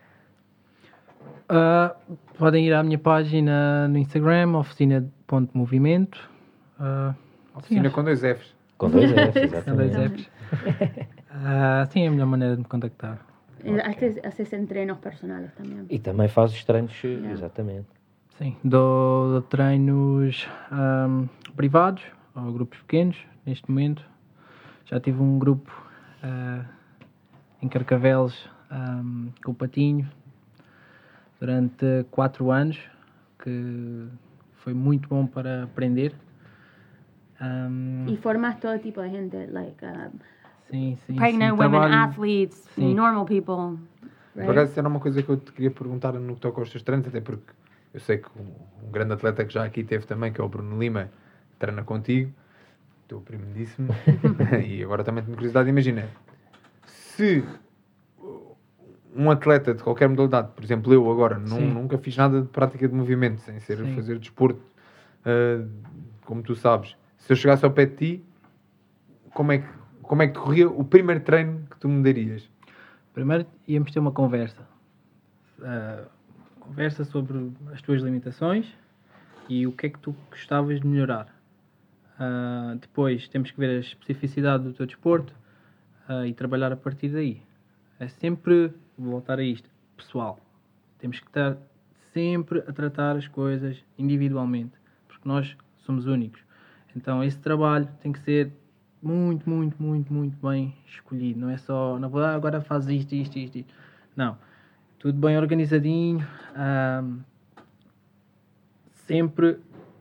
Podem ir à minha página no Instagram, oficina.movimento. Oficina com 2 Fs. Com 2 Fs, Com 2 exatamente. Fs. Sim, é a melhor maneira de me contactar. Haces entrenos personales también. E também fazes treinos, exatamente. Sim, dou treinos privados ou grupos pequenos, neste momento. Já tive um grupo em Carcavelos com o Patinho durante 4 anos, que foi muito bom para aprender. Y formas todo tipo de gente, Sim, pregnant women, trabalho- athletes, Sim. normal people. Por acaso, isso era uma coisa que eu te queria perguntar no que toca aos teus treinos, até porque eu sei que um grande atleta que já aqui teve também, que é o Bruno Lima, treina contigo, teu primo disse-me, e agora também tenho curiosidade, imagina, se um atleta de qualquer modalidade, por exemplo, eu agora, nunca fiz nada de prática de movimento, sem ser fazer desporto, como tu sabes, se eu chegasse ao pé de ti, como é que decorria o primeiro treino que tu me darias? Primeiro íamos ter uma conversa. Conversa sobre as tuas limitações e o que é que tu gostavas de melhorar. Depois temos que ver a especificidade do teu desporto e trabalhar a partir daí. É sempre, vou voltar a isto, pessoal. Temos que estar sempre a tratar as coisas individualmente, porque nós somos únicos. Então esse trabalho tem que ser muito, muito, muito, muito bem escolhido. Não é só, não vou agora faz isto. Não. Tudo bem organizadinho. Sempre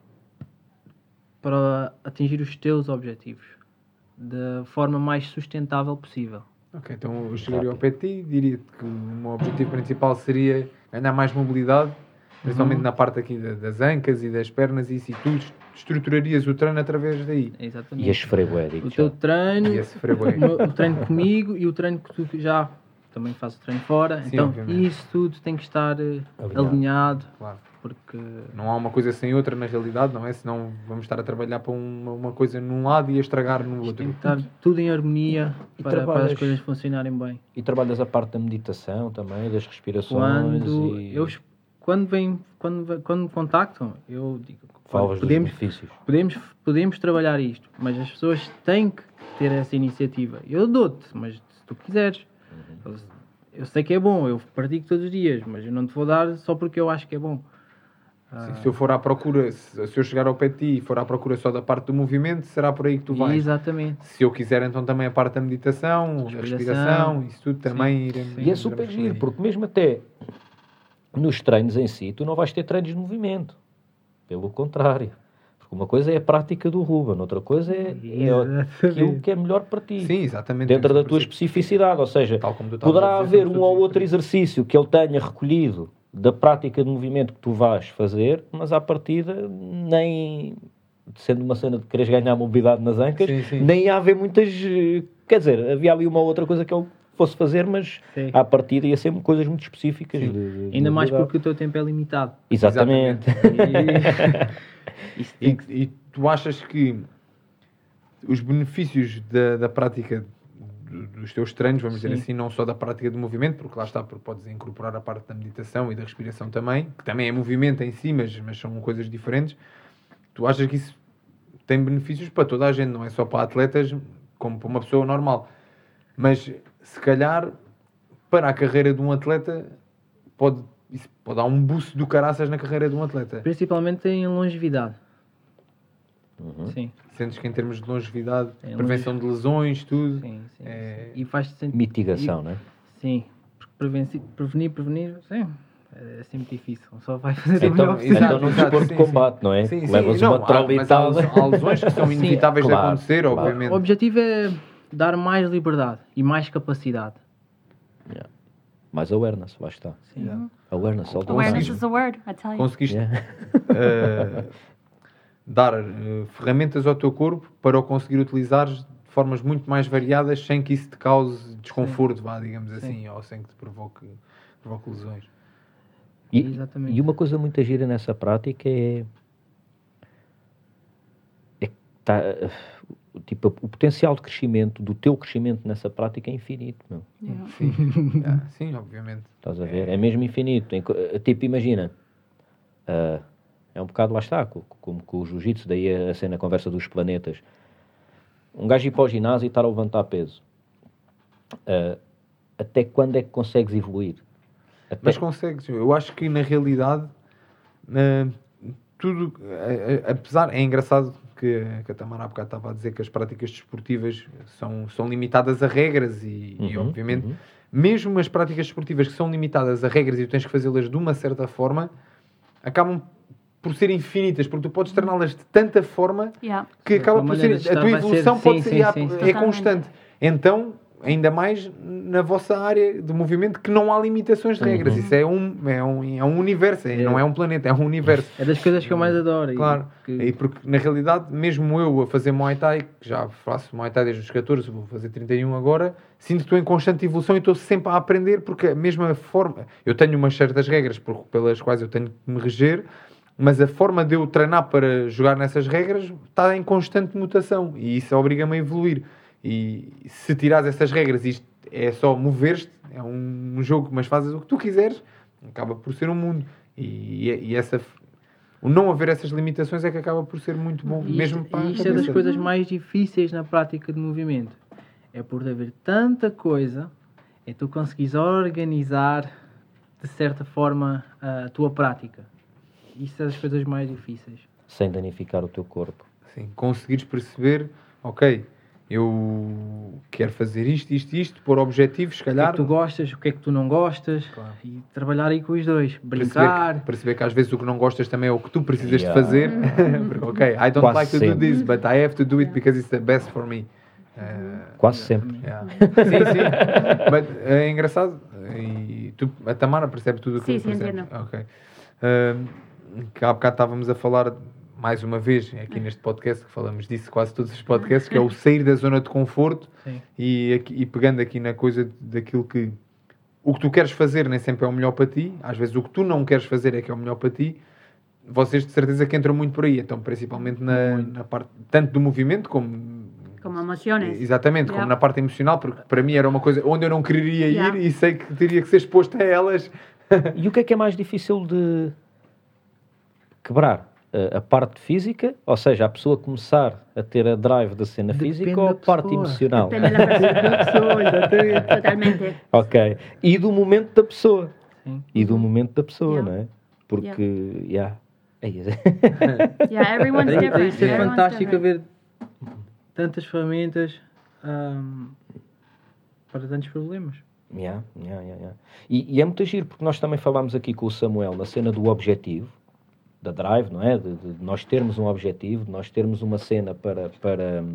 para atingir os teus objetivos da forma mais sustentável possível. Ok, então eu chegaria ao pé de ti e diria-te que o meu objetivo principal seria ganhar mais mobilidade, principalmente na parte aqui das ancas e das pernas, e tu estruturarias o treino através daí. Exatamente. E a sofrer bué, digo O já. teu treino, E a sofrer bué. o treino comigo e o treino que tu já também fazes o treino fora. Sim, Então obviamente. isso tudo tem que estar alinhado, Claro. porque Não há uma coisa sem outra na realidade, não é? Senão vamos estar a trabalhar para uma coisa num lado e a estragar no tem outro. que estar tudo em harmonia E para as trabalhas- coisas funcionarem bem. E trabalhas a parte da meditação também, das respirações Quando me contactam, eu digo, falas dos benefícios. podemos trabalhar isto, mas as pessoas têm que ter essa iniciativa. Eu dou-te, mas se tu quiseres. Eu sei que é bom, eu pratico todos os dias, mas eu não te vou dar só porque eu acho que é bom. Sim, se eu for à procura, se eu chegar ao pé de ti e for à procura só da parte do movimento, será por aí que tu vais. Exatamente. Se eu quiser então também a parte da meditação, a respiração, isso tudo também iremos. E é super giro, porque mesmo até nos treinos em si, tu não vais ter treinos de movimento. Pelo contrário. Porque Porque uma coisa é a prática do Ruben, outra coisa é aquilo que é melhor para ti. Sim, exatamente. Dentro da tua especificidade. Ou seja, Tal como tu estavas poderá a dizer, haver são um ou todos outro diferentes. exercício que ele tenha recolhido da prática de movimento que tu vais fazer, mas à partida nem, sendo uma cena de quereres ganhar mobilidade nas ancas, Sim. nem ia haver muitas... Quer dizer, havia ali uma ou outra coisa que ele fosse fazer, mas Sim. à partida ia ser coisas muito específicas. Sim. de Ainda mais mobilidade. porque o teu tempo é limitado. Exatamente. Isso tem que- E tu achas que os benefícios da prática dos teus treinos, vamos dizer Sim. assim, não só da prática do movimento, porque lá está, porque podes incorporar a parte da meditação e da respiração também, que também é movimento em si, mas são coisas diferentes. Tu achas que isso tem benefícios para toda a gente, não é só para atletas, como para uma pessoa normal. Mas, se calhar, para a carreira de um atleta, isso pode dar um boost do caraças na carreira de um atleta. Principalmente em longevidade. Sim, Sentes que em termos de longevidade, Em prevenção de lesões, tudo... sim. É- E faz-te sentir... Mitigação, não é? Sim, porque prevenir, sim, é sempre difícil. Só vai fazer o Então, melhor possível. então num desporto de combate, não é? Sim, Levas não, uma mas traulitada. há lesões que são Sim, inevitáveis claro, de acontecer, claro. obviamente. O objetivo é dar mais liberdade e mais capacidade. Yeah. Mais awareness, lá está. Sim. Awareness, all the Awareness time. is a word, I tell you. Conseguiste Yeah. dar ferramentas ao teu corpo para o conseguir utilizar de formas muito mais variadas sem que isso te cause desconforto, vá, digamos assim, ou sem que te provoque lesões. Exatamente. E uma coisa muito gira nessa prática é que tipo, o potencial de crescimento, do teu crescimento nessa prática é infinito, meu. Yeah. Sim, obviamente. Estás a ver? É mesmo infinito. Tipo, imagina, é um bocado, lá está, como com o jiu-jitsu, daí a cena, a conversa dos planetas. Um gajo ir para o ginásio e estar a levantar peso. Até quando é que consegues evoluir? Mas consegues. Eu acho que na realidade tudo, apesar, é engraçado que a Tamara há bocado estava a dizer que as práticas desportivas são limitadas a regras e obviamente mesmo as práticas desportivas que são limitadas a regras e tu tens que fazê-las de uma certa forma, acabam por ser infinitas, porque tu podes torná-las de tanta forma Yeah. que acaba por ser, a tua evolução pode ser, é Totalmente. constante. Então, ainda mais na vossa área de movimento, que não há limitações de regras. Isso é um universo, não é um planeta, é um universo. É das coisas que eu mais adoro. Claro, e porque na realidade, mesmo eu a fazer Muay Thai, que já faço Muay Thai desde os 14, vou fazer 31 agora, sinto que estou em constante evolução e estou sempre a aprender, porque a mesma forma, eu tenho umas certas regras pelas quais eu tenho que me reger, mas a forma de eu treinar para jogar nessas regras está em constante mutação e isso obriga-me a evoluir. E se tirares essas regras, isto é só mover-te, é um jogo, mas fazes o que tu quiseres, acaba por ser um mundo. E o não haver essas limitações é que acaba por ser muito bom, mesmo para a isto é das cabeça. coisas mais difíceis na prática de movimento. É por haver tanta coisa, é tu conseguires organizar de certa forma a tua prática. Isso é das coisas mais difíceis. Sem danificar o teu corpo. Sim, conseguires perceber, ok, eu quero fazer isto, pôr objetivos, se O que é calhar. que tu gostas, o que é que tu não gostas, Claro. e trabalhar aí com os dois. Brincar. Perceber que às vezes o que não gostas também é o que tu precisas Yeah. de fazer. Porque, ok, I don't Quase like to do sempre. this, but I have to do it because it's the best for me. Quase sempre. Yeah. Sim. Mas é engraçado. E a Tamara percebe tudo o que Sim, tu percebes. entendo. Ok. Que há bocado estávamos a falar, mais uma vez, aqui neste podcast, que falamos disso quase todos os podcasts, que é o sair da zona de conforto. Sim. E pegando aqui na coisa daquilo que o que tu queres fazer nem sempre é o melhor para ti, às vezes o que tu não queres fazer é que é o melhor para ti. Vocês de certeza que entram muito por aí, então principalmente na parte tanto do movimento como emociones. exatamente, como na parte emocional, porque para mim era uma coisa onde eu não quereria ir e sei que teria que ser exposto a elas. E o que é mais difícil de quebrar? A parte física, ou seja, a pessoa começar a ter a drive da cena Depende física ou a da parte pessoa. emocional? Depende da persona. Totalmente. Ok. E do momento da pessoa. Sim. E do momento da pessoa, Yeah. não é? Porque, yeah. Yeah, everyone's Daí different. isso é Everyone's fantástico different. haver tantas ferramentas para tantos problemas. Yeah. E é muito giro, porque nós também falámos aqui com o Samuel na cena do objetivo. da drive, não é? De nós termos um objetivo, de nós termos uma cena para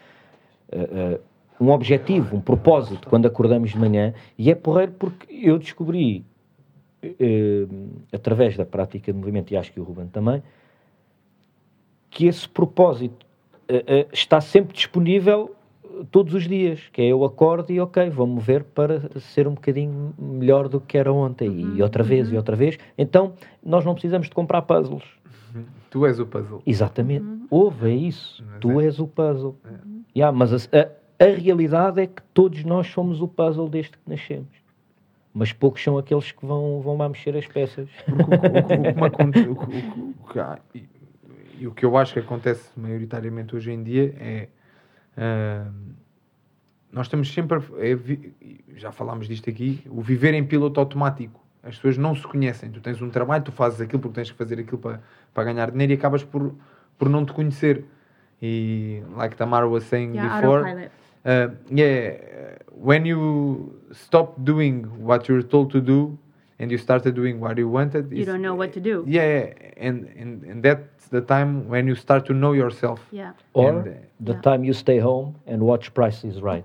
um objetivo, um propósito quando acordamos de manhã, e é porreiro porque eu descobri através da prática de movimento, e acho que o Ruben também, que esse propósito está sempre disponível todos os dias, que é eu acordo e ok, vou mover para ser um bocadinho melhor do que era ontem, e outra vez, e outra vez. Então, nós não precisamos de comprar puzzles. Tu és o puzzle. Exatamente. Ouve, é isso. Tu és o puzzle. Mas a realidade é que todos nós somos o puzzle desde que nascemos. Mas poucos são aqueles que vão lá mexer as peças. E o que eu acho que acontece maioritariamente hoje em dia é... nós estamos sempre... já falámos disto aqui. O viver em piloto automático. As pessoas não se conhecem. Tu tens um trabalho, tu fazes aquilo porque tens que fazer aquilo para ganhar dinheiro e acabas por não te conhecer. E like Tamara was saying before... Autopilot. When you stop doing what you're told to do and you started doing what you wanted, You don't know what to do. and that's the time when you start to know yourself. Yeah. Or the time you stay home and watch Price is Right.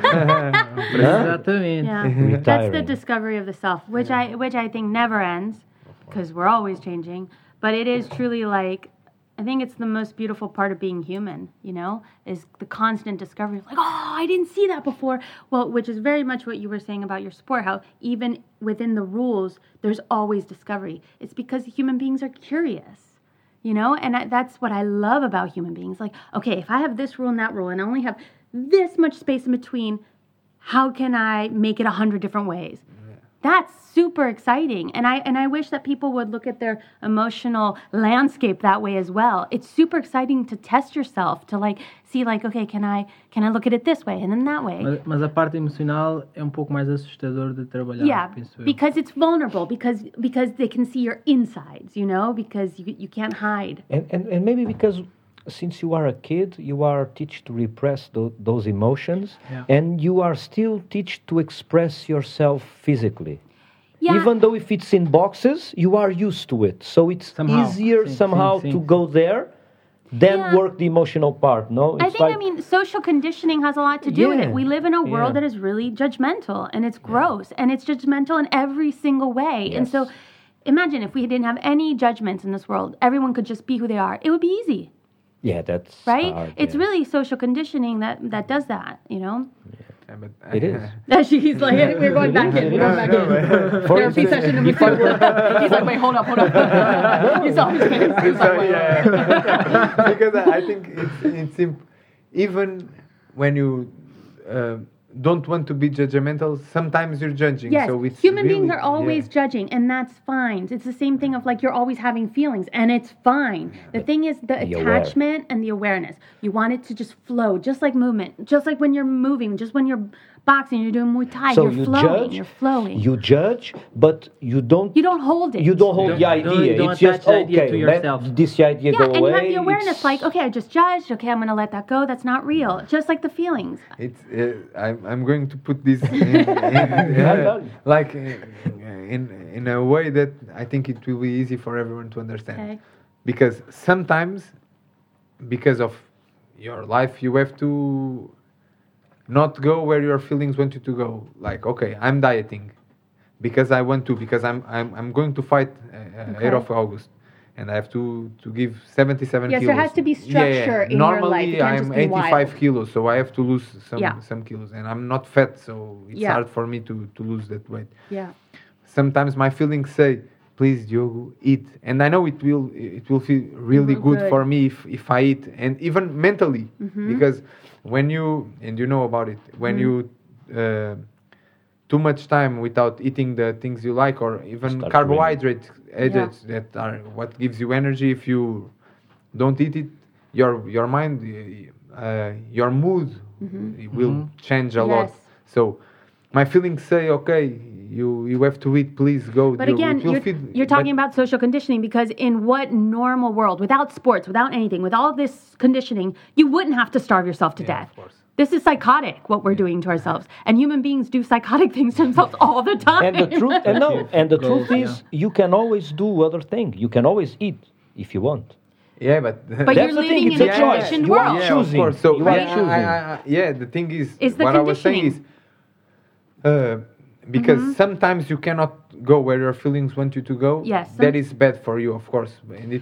Exatamente. Yeah. That's the Retiring. discovery of the self, which I think never ends, because we're always changing. But it is truly like, I think it's the most beautiful part of being human, is the constant discovery of like, oh, I didn't see that before. Well, which is very much what you were saying about your sport, how even within the rules, there's always discovery. It's because human beings are curious, and that's what I love about human beings. Like, okay, if I have this rule and that rule, and I only have this much space in between, how can I make it 100 different ways? That's super exciting. And I wish that people would look at their emotional landscape that way as well. It's super exciting to test yourself, to see okay, can I look at it this way and then that way? Mas a parte emocional é um pouco mais assustador de trabalhar, Yeah, penso eu. because it's vulnerable, because they can see your insides, because you can't hide. And maybe because since you are a kid, you are taught to repress those emotions, and you are still taught to express yourself physically. Yeah. Even though if it's in boxes, you are used to it. So it's easier somehow to go there than work the emotional part, no? It's I think, social conditioning has a lot to do with it. We live in a world Yeah. that is really judgmental, and it's gross, and it's judgmental in every single way. And so imagine if we didn't have any judgments in this world, everyone could just be who they are. It would be easy. Yeah, that's right? hard, It's really social conditioning that does that, Yeah, but It is. He's like, we're going back in. Therapy session number 2. He's like, wait, hold up. You saw his face. He's like, wait. Because I think it's even when you don't want to be judgmental, sometimes you're judging. Yes, So it's human really, beings are always judging, and that's fine. It's the same thing of you're always having feelings, and it's fine. The thing is the attachment and the awareness. You want it to just flow, just like movement, just like when you're moving, just when you're boxing, you're doing Muay Thai, So you're you flowing, judge, you're flowing. You judge, but you don't hold it. You don't hold the idea. you don't It's just attach the idea okay. to yourself. Let this idea go away. And you have the awareness, It's- like, okay, I just judged. Okay, I'm going to let that go. That's not real. Just like the feelings. It's I'm going to put this in a way that I think it will be easy for everyone to understand. Okay. Because sometimes, because of your life, you have to not go where your feelings want you to go. Like, okay, I'm dieting because I want to, because I'm going to fight 8th of August. And I have to give 77 Yes, kilos. there has to be structure in your life. It Normally, can't I'm just be 85 wild. kilos, so I have to lose some kilos. And I'm not fat, so it's hard for me to lose that weight. Yeah. Sometimes my feelings say, please, Diogo, eat. And I know it will feel really good for me if I eat. And even mentally, because when you, and you know about it, when you too much time without eating the things you like, or even carbohydrates that are what gives you energy, if you don't eat it, your mind, your mood will change a lot. So my feelings say, okay, you have to eat, please go. But again, you're talking about social conditioning, because in what normal world, without sports, without anything, with all this conditioning, you wouldn't have to starve yourself to death. Of course. This is psychotic, what we're doing to ourselves. And human beings do psychotic things to themselves all the time. And the truth, and the truth is, you can always do other things. You can always eat. if you want. Yeah, but But That's you're the thing, living it's in a a choice. conditioned You are world. yeah, choosing. of course. So You are yeah, choosing. yeah, the thing is, It's the what I was saying is, because sometimes you cannot go where your feelings want you to go. Yes. That is bad for you, of course. And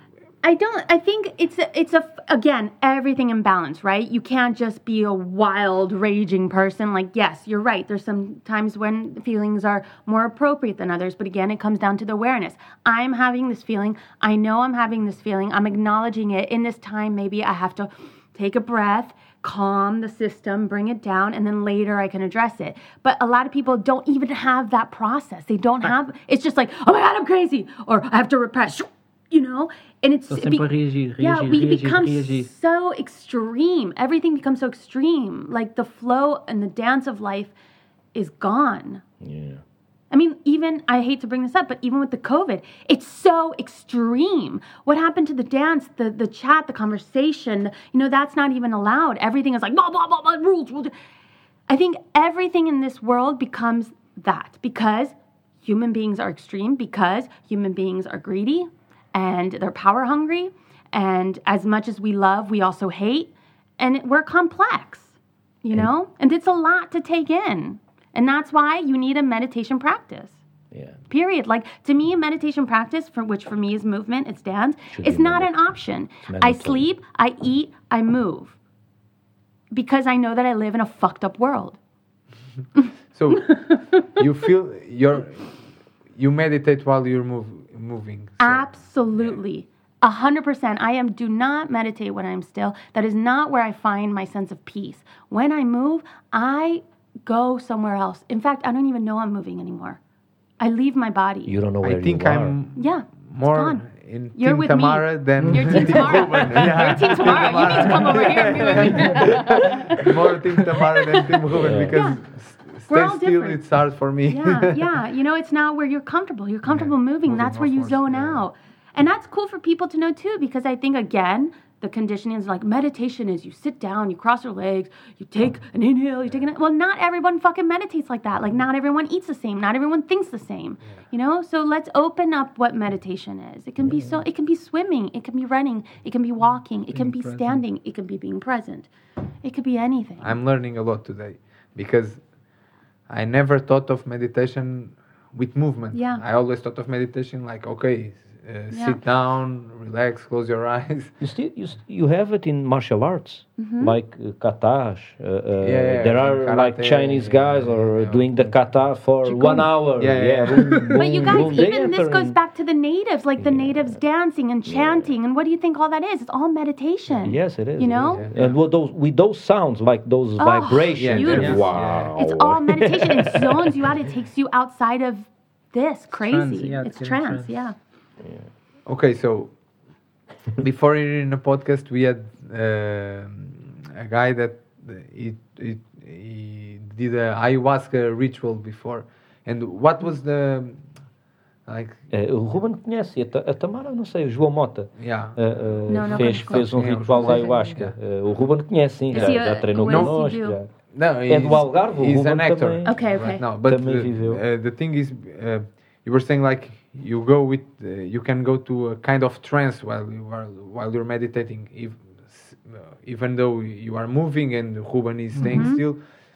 I think it's again, everything in balance, right? You can't just be a wild, raging person. Like, yes, you're right. There's some times when feelings are more appropriate than others. But again, it comes down to the awareness. I'm having this feeling. I know I'm having this feeling. I'm acknowledging it. In this time, maybe I have to take a breath, calm the system, bring it down, and then later I can address it. But a lot of people don't even have that process. They don't have, it's just like, oh my God, I'm crazy, or I have to repress, you know? And it's, Só sempre reagir, yeah, we reagir, become reagir. so extreme. Everything becomes so extreme. Like the flow and the dance of life is gone. Yeah. I mean, even, I hate to bring this up, but even with the COVID, it's so extreme. What happened to the dance, the chat, the conversation, that's not even allowed. Everything is like, blah, blah, blah, blah, rules. I think everything in this world becomes that because human beings are extreme, because human beings are greedy and they're power hungry. And as much as we love, we also hate. And we're complex, and it's a lot to take in. And that's why you need a meditation practice. Yeah. Period. Like, to me, a meditation practice, which for me is movement, it's dance, Should it's be not an mandatory. option. I mandatory. sleep, I eat, I move. Because I know that I live in a fucked up world. so you feel you meditate while you're moving. So. Absolutely. 100%. Do not meditate when I'm still. That is not where I find my sense of peace. When I move, I go somewhere else. In fact, I don't even know I'm moving anymore. I leave my body. You don't know where I think you are. I'm Yeah. more gone. in You're Team with Tamara me. than You're Team Tamara. You're Team Tamara. You need to come over here and be with me. more Team Tamara than Team Ruben Yeah. because We're all stay still, different. it's hard for me. Yeah. It's now where you're comfortable. You're comfortable moving. That's where you upwards, zone yeah. out. And that's cool for people to know too, because I think, again, the conditioning is like meditation is you sit down, you cross your legs, you take an inhale, you take an... Well, not everyone fucking meditates like that. Like, not everyone eats the same. Not everyone thinks the same. So let's open up what meditation is. It can be it can be swimming, it can be running, it can be walking, it can be present. standing, it can be being present. It could be anything. I'm learning a lot today because I never thought of meditation with movement. Yeah. I always thought of meditation like, okay, Yeah. sit down, relax, close your eyes. You have it in martial arts, like katas. There are karate, like Chinese guys or doing the kata for Qigong. 1 hour. Yeah. Boom, But you boom, guys, boom. They even this enter goes in- back to the natives, like the natives dancing and chanting. And what do you think all that is? It's all meditation. Yes, it is. You it know? is. And with those sounds, like those vibrations, beautiful. wow. It's all meditation. It zones you out. It takes you outside of this. Crazy. trance, yeah, It's it's trance, trance. yeah. Okay, so before in the podcast we had a guy that he did a ayahuasca ritual before, and what was the like? O Ruben conhece, a Tamara não sei, o João Mota Yeah. Não fez conheço. um Sim, ritual o da João. ayahuasca. O Ruben conhece, sim, Esse já treinou o esse connosco. viu. já. No, É do Algarve, o he's Ruben an actor. também. Okay. Right now, but Também viveu. the thing is, you were saying like you go with, you can go to a kind of trance while you're meditating, even though you are moving and Ruben is staying still.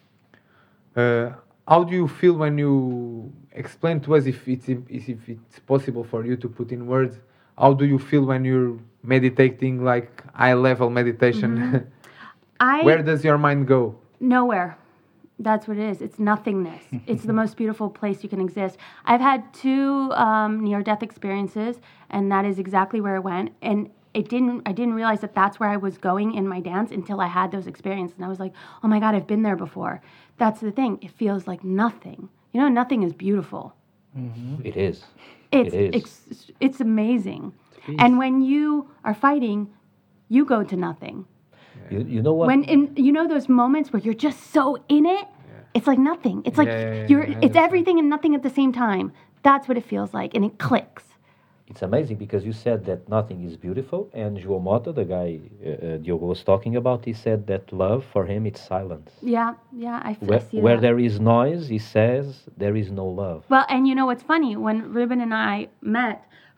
How do you feel when you explain to us if it's possible for you to put in words? How do you feel when you're meditating, like high level meditation? Where does your mind go? Nowhere. That's what it is. It's nothingness. It's the most beautiful place you can exist. I've had 2 near-death experiences, and that is exactly where I went. And I didn't realize that that's where I was going in my dance until I had those experiences. And I was like, oh my God, I've been there before. That's the thing. It feels like nothing. Nothing is beautiful. It is. It's amazing. And when you are fighting, you go to nothing. You know what? Those moments where you're just so in it, it's like nothing. It's like I it's understand. everything and nothing at the same time. That's what it feels like, and it clicks. It's amazing because you said that nothing is beautiful, and João Mota, the guy Diogo was talking about, he said that love for him it's silence. Yeah, I see Where that. there is noise, he says there is no love. Well, and you know what's funny? When Ruben and I met,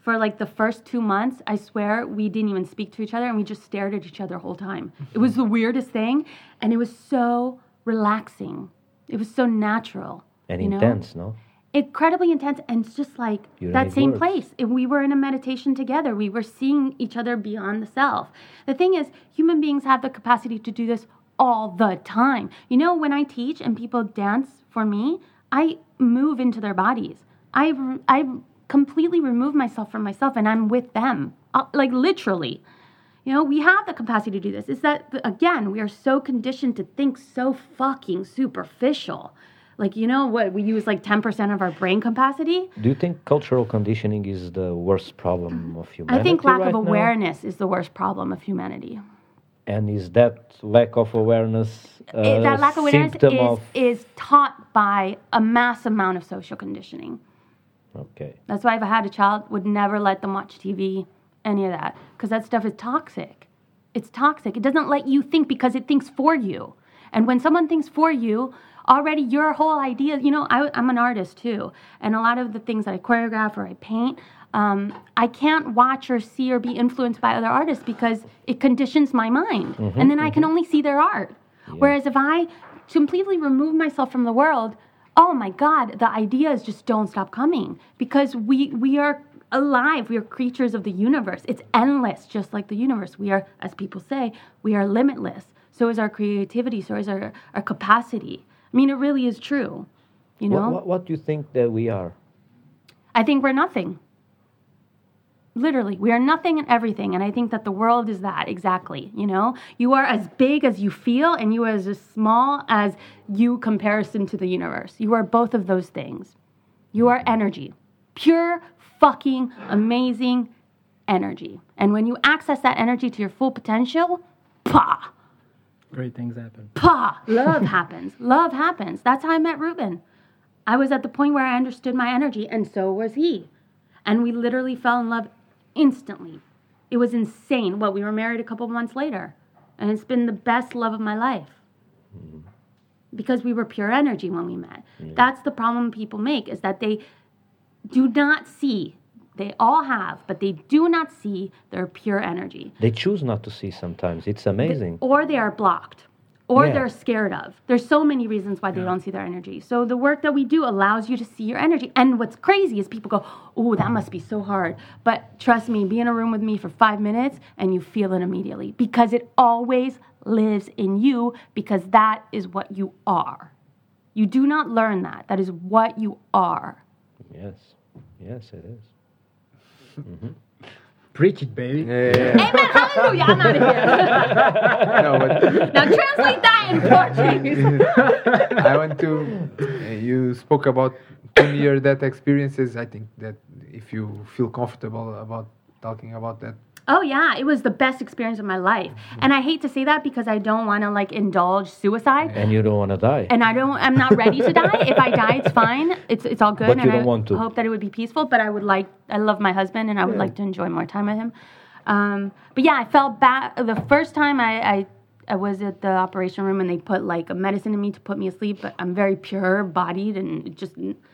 for like the first 2 months, I swear we didn't even speak to each other and we just stared at each other the whole time. It was the weirdest thing, and it was so relaxing. It was so natural. And you know? intense, no? Incredibly intense, and it's just like You don't that need same words. place. If we were in a meditation together. We were seeing each other beyond the self. The thing is, human beings have the capacity to do this all the time. You know, when I teach and people dance for me, I move into their bodies. I completely remove myself from myself, and I'm with them, like literally. You know, we have the capacity to do this. It's that, again, we are so conditioned to think so fucking superficial. Like, you know what, we use like 10% of our brain capacity. Do you think cultural conditioning is the worst problem of humanity? I think lack right of now? awareness is the worst problem of humanity. And is that lack of awareness That lack of awareness symptom of... is taught by a mass amount of social conditioning. Okay. That's why if I had a child, would never let them watch TV, any of that, because that stuff is toxic. It's toxic. It doesn't let you think because it thinks for you. And when someone thinks for you, already your whole idea, you know, I'm an artist too. And a lot of the things that I choreograph or I paint, I can't watch or see or be influenced by other artists because it conditions my mind. And then I can only see their art. Yeah. Whereas if I completely remove myself from the world, oh my God, the ideas just don't stop coming because we are alive. We are creatures of the universe. It's endless, just like the universe. We are, as people say, we are limitless. So is our creativity. So is our capacity. I mean, it really is true. You know? What do you think that we are? I think we're nothing. Literally, we are nothing and everything. And I think that the world is that exactly. You know, you are as big as you feel and you are as small as you comparison to the universe. You are both of those things. You are energy, pure fucking amazing energy. And when you access that energy to your full potential, pah, Great things happen. pah, love happens. Love happens. That's how I met Ruben. I was at the point where I understood my energy, and so was he. And we literally fell in love instantly. It was insane. We were married a couple of months later, and it's been the best love of my life. Because we were pure energy when we met. Yeah. That's the problem people make, is that they do not see. They all have, but they do not see their pure energy. They choose not to see sometimes. It's amazing. Or they are blocked. Or they're scared of. There's so many reasons why they don't see their energy. So the work that we do allows you to see your energy. And what's crazy is people go, oh, that must be so hard. But trust me, be in a room with me for 5 minutes and you feel it immediately. Because it always lives in you, because that is what you are. You do not learn that. That is what you are. Yes. Yes, it is. Mm-hmm. Preach it, baby. Yeah. Amen, hallelujah. I'm out of here. No, but Now translate that in Portuguese. I want to. You spoke about 10-year death experiences. I think that if you feel comfortable about talking about that. Oh yeah, it was the best experience of my life. And I hate to say that because I don't want to like indulge suicide. And you don't want to die. And I'm not ready to die. If I die, it's fine. It's all good. But you don't want to. I hope that it would be peaceful, but I love my husband and I would like to enjoy more time with him. But yeah, I felt bad. The first time I was at the operation room and they put like a medicine in me to put me asleep, but I'm very pure bodied and it just,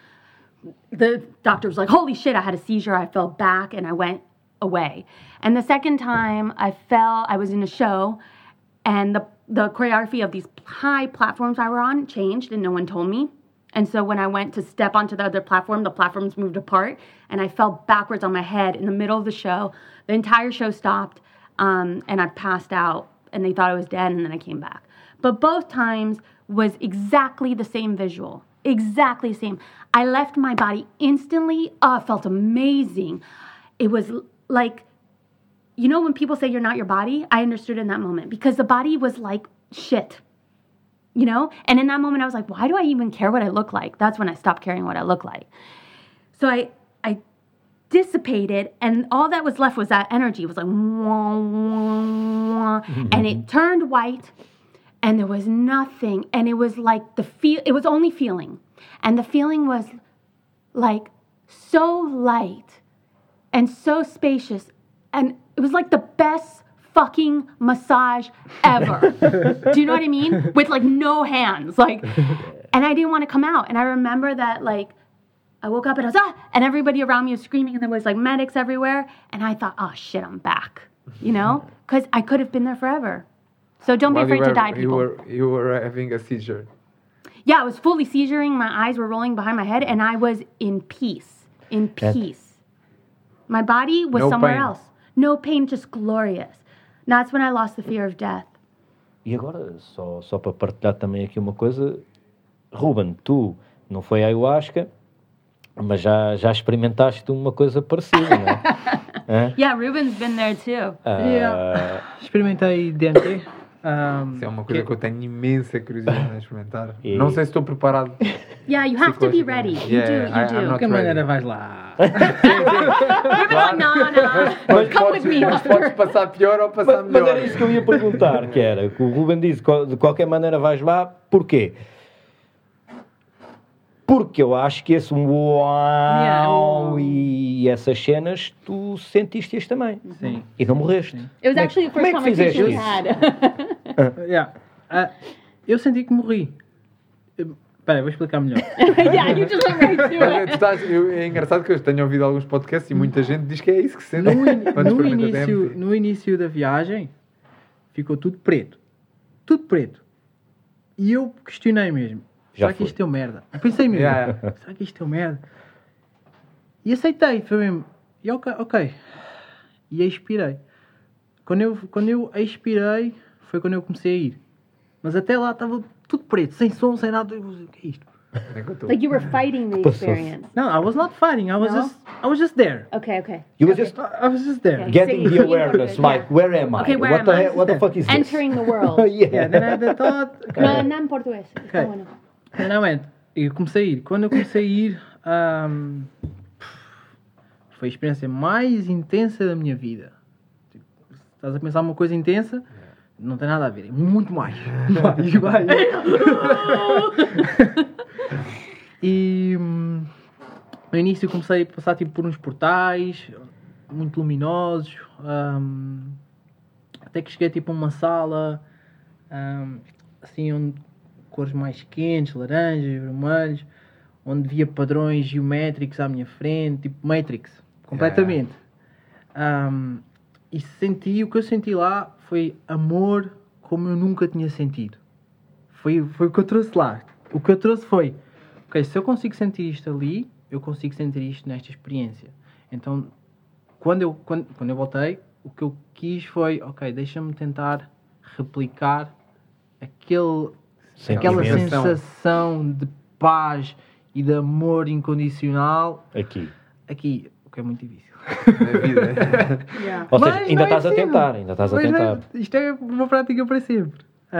the doctor was like, holy shit, I had a seizure. I fell back and I went away. And the second time I was in a show and the choreography of these high platforms I were on changed and no one told me. And so when I went to step onto the other platform, the platforms moved apart and I fell backwards on my head in the middle of the show. The entire show stopped and I passed out and they thought I was dead and then I came back. But both times was exactly the same visual. Exactly the same. I left my body instantly. Oh, it felt amazing. It was like, you know when people say you're not your body? I understood in that moment because the body was like shit, you know? And in that moment I was like, why do I even care what I look like? That's when I stopped caring what I look like. So I dissipated and all that was left was that energy. It was like, wah, wah, wah, and it turned white and there was nothing. And it was like it was only feeling. And the feeling was like so light and so spacious. And it was like the best fucking massage ever. Do you know what I mean? With like no hands. And I didn't want to come out. And I remember that like I woke up and I was, and everybody around me was screaming and there was like medics everywhere. And I thought, oh shit, I'm back, you know? Because I could have been there forever. So don't be While afraid to die, people. You were having a seizure. Yeah, I was fully seizuring. My eyes were rolling behind my head and I was in peace. In peace. My body was No somewhere pain. else. No pain, just glorious. And that's when I lost the fear of death. E agora, só para partilhar também aqui uma coisa, Ruben, tu não foi a ayahuasca, mas já experimentaste uma coisa parecida, não é? Yeah, Ruben's been there too. Experimentei DMT. Isso é uma coisa que eu tenho imensa curiosidade em experimentar. E- Não sei se estou preparado. Yeah, you have to be ready. You do, you I'm do. De not qualquer ready. maneira vais lá. Ruben's like, no. Come with me. Mas podes passar pior ou passar Mas melhor. era isso que eu ia perguntar, que era, que o Ruben disse, de qualquer maneira vais lá, porquê? Porque eu acho que esse uau e essas cenas, tu sentiste-as também. Sim. E não morreste. It was actually the Como first é que fizeste conversation we isso? had. Yeah. Eu senti que morri. Espera, vou explicar melhor. Yeah, you just went right to it. É engraçado que eu tenho ouvido alguns podcasts e muita gente diz que é isso que sente. quando No experimenta DMT. no início da viagem, ficou tudo preto. Tudo preto. E eu questionei mesmo. Já Será que foi. isto é merda? Eu pensei mesmo. Yeah. Será que isto é merda? E aceitei. Foi mesmo. E ok. E expirei. Quando eu expirei, foi quando eu comecei a ir. Mas até lá estava tudo preto, sem som, sem nada. Eu, o que é isto? É que eu tô- Like you were fighting the experience. No, I was not fighting. I was No? just there. Okay. You were just I was just there. Okay. getting the awareness, Yeah. like, where am I? Okay, where what am the I? hell, what the fuck is this? Entering the world. Yeah, then I had the thought. No, não em português. Está Okay. bueno. Then I went. E eu comecei a ir. Quando eu comecei a ir, foi a experiência mais intensa da minha vida. Tipo, se estás a pensar uma coisa intensa, não tem nada a ver. É muito mais. Vai. E no início comecei a passar tipo, por uns portais muito luminosos. Até que cheguei tipo a uma sala assim onde cores mais quentes, laranjas, vermelhos, onde via padrões geométricos à minha frente, tipo Matrix, completamente. E o que eu senti lá foi amor como eu nunca tinha sentido. Foi o que eu trouxe lá. O que eu trouxe foi, ok, se eu consigo sentir isto ali, eu consigo sentir isto nesta experiência. Então, quando eu voltei, o que eu quis foi, ok, deixa-me tentar replicar aquela Sentimento. sensação de paz e de amor incondicional Aqui. aqui, o que é muito difícil. Na vida. Yeah. Ou seja, Mas ainda não é estás a possível. tentar, ainda estás a Mas não é- tentar. isto é uma prática para sempre.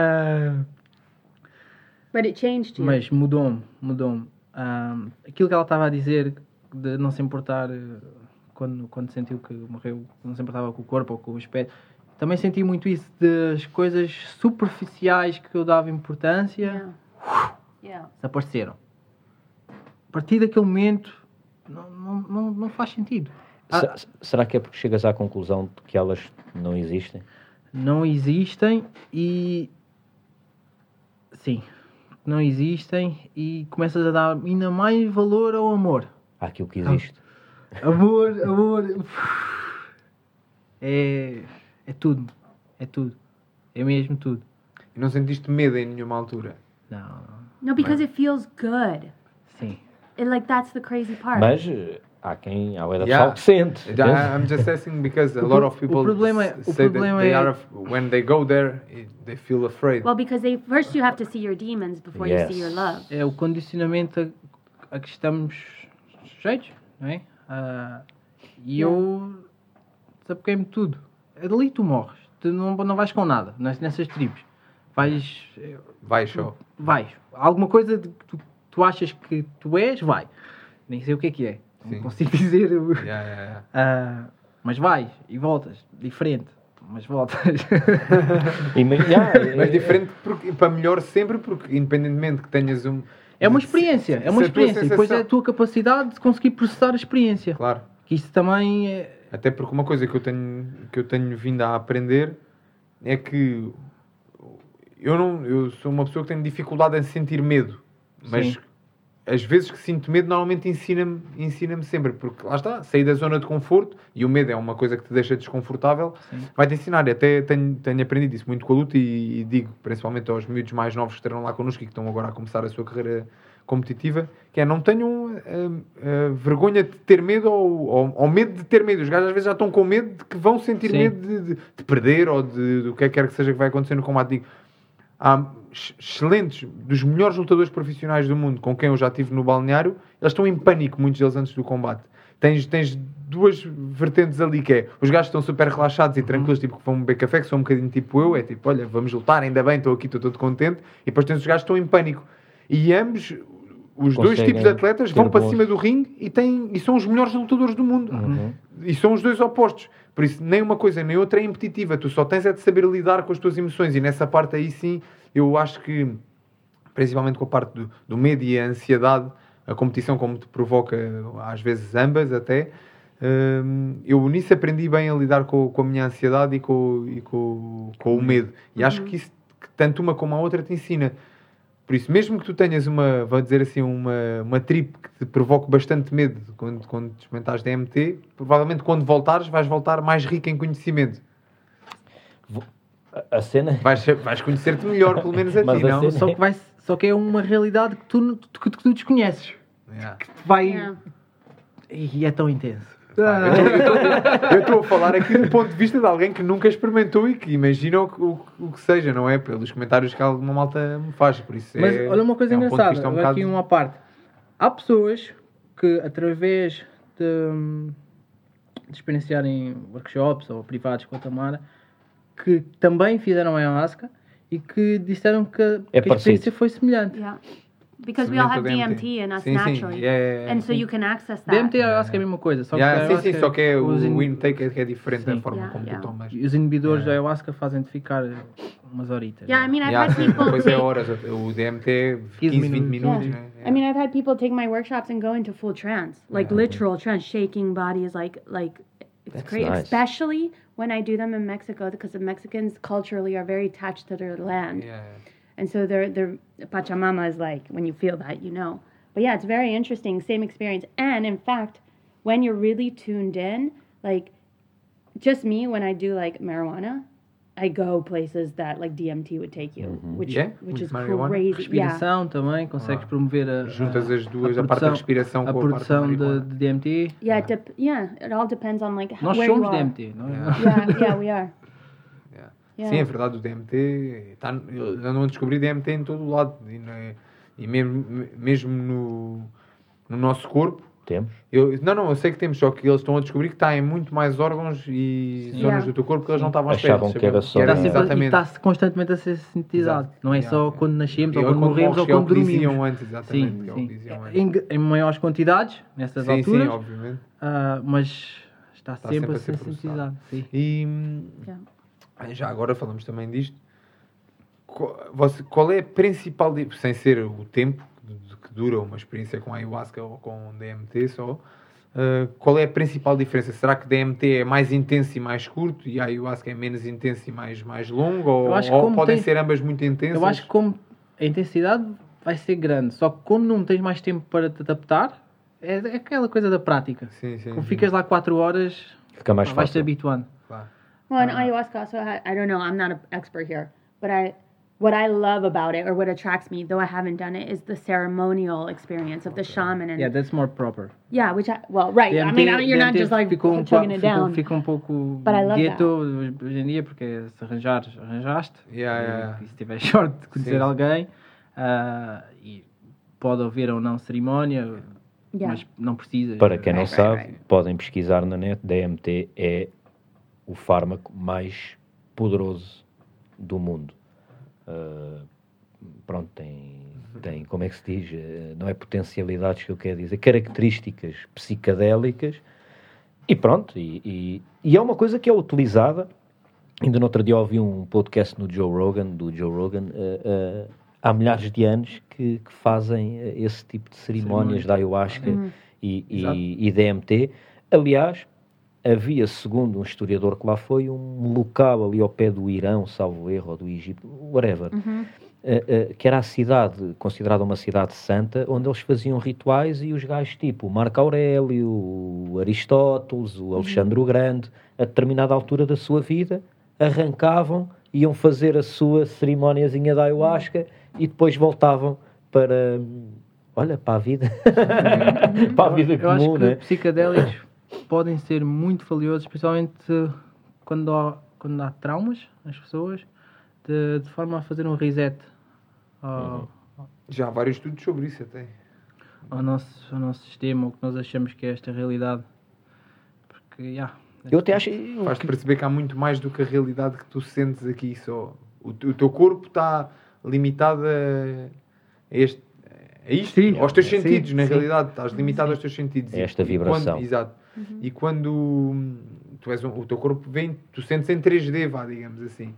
But it changed you. Mas mudou-me. Aquilo que ela estava a dizer de não se importar quando sentiu que morreu, não se importava com o corpo ou com o aspecto. Também senti muito isso das coisas superficiais que eu dava importância, Yeah. desapareceram. A partir daquele momento não faz sentido. Será que é porque chegas à conclusão de que elas não existem? Não existem e... Sim, não existem e começas a dar ainda mais valor ao amor. Àquilo que existe. Amor. É tudo. É tudo. É mesmo tudo. E não sentiste medo em nenhuma altura? Não. No, because it feels good. Sim. Like that's the crazy part. Mas há pessoal Yeah. que sente. I'm just asking because a lot of people say that they are, when they go there, they feel afraid. Well, because first you have to see your demons before you see your love. É o condicionamento a que estamos sujeitos, não é? E eu desapeguei-me de tudo. Ali tu morres. Tu não vais com nada nessas tribos. Vai, show. Vais. Alguma coisa que tu achas que tu és, vai. Nem sei o que é. Sim. Não consigo dizer. Yeah. Mas vais e voltas. Diferente. Mas voltas. Mas diferente para melhor sempre, porque independentemente que tenhas É uma experiência. É uma se a tua experiência. E depois é a sensação- tua capacidade de conseguir processar a experiência. Claro. Que isso também é... Até porque uma coisa que eu tenho vindo a aprender é que eu sou uma pessoa que tem dificuldade em sentir medo, mas Sim. as vezes que sinto medo, normalmente ensina-me sempre, porque lá está, sair da zona de conforto, e o medo é uma coisa que te deixa desconfortável, vai-te ensinar. Até tenho aprendido isso muito com a luta e digo, principalmente aos miúdos mais novos que estarão lá connosco e que estão agora a começar a sua carreira competitiva, que é, não tenham vergonha de ter medo ou medo de ter medo. Os gajos às vezes já estão com medo de que vão sentir medo de perder ou do que quer que seja que vai acontecer no combate. Digo, há excelentes, dos melhores lutadores profissionais do mundo com quem eu já estive no balneário, eles estão em pânico, muitos deles, antes do combate. Tens duas vertentes ali, que é, os gajos estão super relaxados e tranquilos, tipo que vão beber café, que são um bocadinho tipo eu, é tipo, olha, vamos lutar, ainda bem, estou aqui, estou todo contente, e depois tens os gajos que estão em pânico. E ambos, os dois tipos de atletas, vão para cima do ringue e são os melhores lutadores do mundo. E são os dois opostos. Por isso, nem uma coisa nem outra é impetitiva. Tu só tens é de saber lidar com as tuas emoções. E nessa parte aí, sim, eu acho que, principalmente com a parte do medo e a ansiedade, a competição, como te provoca, às vezes ambas até, eu nisso aprendi bem a lidar com a minha ansiedade e com o medo. E acho que isso, que tanto uma como a outra, te ensina. Por isso, mesmo que tu tenhas vou dizer assim, uma trip que te provoque bastante medo quando experimentares DMT, provavelmente quando voltares, vais voltar mais rico em conhecimento. A cena... Vais conhecer-te melhor, pelo menos a ti, não? Só que é uma realidade que tu desconheces. Yeah. Que te vai... E é tão intenso. Eu estou a falar aqui do ponto de vista de alguém que nunca experimentou e que imagina o que seja, não é? Pelos comentários que alguma malta me faz, por isso. Mas olha uma coisa engraçada, aqui uma parte. Há pessoas que, através de experienciarem workshops ou privados com a Tamara, que também fizeram a ayahuasca e que disseram que a experiência foi semelhante. Yeah. Because we all have DMT in us naturally. And so you can access that. DMT e ayahuasca é a mesma coisa. Só que só que o intake é diferente da forma como tu tomas. E os inibidores da ayahuasca fazem-te ficar umas horitas. Yeah, I mean, I've had people depois é horas. O DMT é 15, 20 minutos. I mean, I've had people take my workshops and go into full trance. Like literal trance, shaking bodies, like it's great. Nice. Especially when I do them in Mexico, because the Mexicans culturally are very attached to their land. Yeah. And so their Pachamama is like, when you feel that, you know. But yeah, it's very interesting, same experience. And in fact, when you're really tuned in, like, just me, when I do like marijuana, I go places that like DMT would take you, which is crazy. Respiração também, consegues promover juntas as duas, a parte da respiração com a produção de DMT. Yeah, it all depends on like Nós where somos you are. DMT, não é? Yeah, we are. Yeah. Sim, é verdade, o DMT, eu não descobri DMT em todo o lado, e mesmo no nosso corpo. Temos? Eu sei que temos, só que eles estão a descobrir que está em muito mais órgãos e zonas do teu corpo que eles não estavam a esperar. Achavam que era só... Está constantemente a ser sintetizado. Não é só quando nascemos ou quando morremos ou quando dormimos. Diziam antes, exatamente. Em maiores quantidades, nessas alturas. Sim, obviamente. Mas está sempre a ser sintetizado. E já agora falamos também disto. Qual é a principal... Sem ser o tempo que dura uma experiência com ayahuasca ou com DMT só, qual é a principal diferença? Será que DMT é mais intenso e mais curto e a ayahuasca é menos intenso e mais longo? Ou podem ser ambas muito intensas? Eu acho que como a intensidade vai ser grande, só que como não tens mais tempo para te adaptar, é aquela coisa da prática. Sim, como ficas lá 4 horas, fica mais vais-te habituando. Claro. Well, and ayahuasca also I don't know, I'm not an expert here, but what I love about it, or what attracts me, though I haven't done it, is the ceremonial experience of the shaman. And that's more proper. Yeah, right. DMT, I mean, you're not just like chugging it down. Fica pouco gueto hoje em dia, porque se arranjaste. E se tiver sorte de conhecer alguém, e pode haver ou não cerimónia, mas não precisa. Para quem não sabe, podem pesquisar na net, DMT é o fármaco mais poderoso do mundo. Pronto, tem, como é que se diz, não é potencialidades que eu quero dizer, características psicadélicas, e pronto, e é uma coisa que é utilizada. Ainda no outro dia ouvi um podcast do Joe Rogan, há milhares de anos que fazem esse tipo de cerimónias da ayahuasca e DMT. Aliás, havia, segundo um historiador que lá foi, um local ali ao pé do Irão, salvo erro, ou do Egito, whatever, que era a cidade, considerada uma cidade santa, onde eles faziam rituais e os gajos tipo o Marco Aurélio, o Aristóteles, o Alexandre o Grande, a determinada altura da sua vida, arrancavam, iam fazer a sua cerimóniazinha da ayahuasca e depois voltavam para, olha, para a vida. Para a vida Eu acho comum, que né? psicadélicos podem ser muito valiosos, especialmente quando há traumas nas pessoas, de forma a fazer um reset Já há vários estudos sobre isso até. ao nosso sistema, o que nós achamos que é esta realidade. Porque, Eu até acho... Faz-te perceber que há muito mais do que a realidade que tu sentes aqui só. O teu corpo está limitado a isto, Sim, aos teus sim, sentidos, na sim. realidade. Estás limitado aos teus sentidos. É esta vibração. Exato. E quando o teu corpo vem, tu sentes em 3D, vá, digamos assim.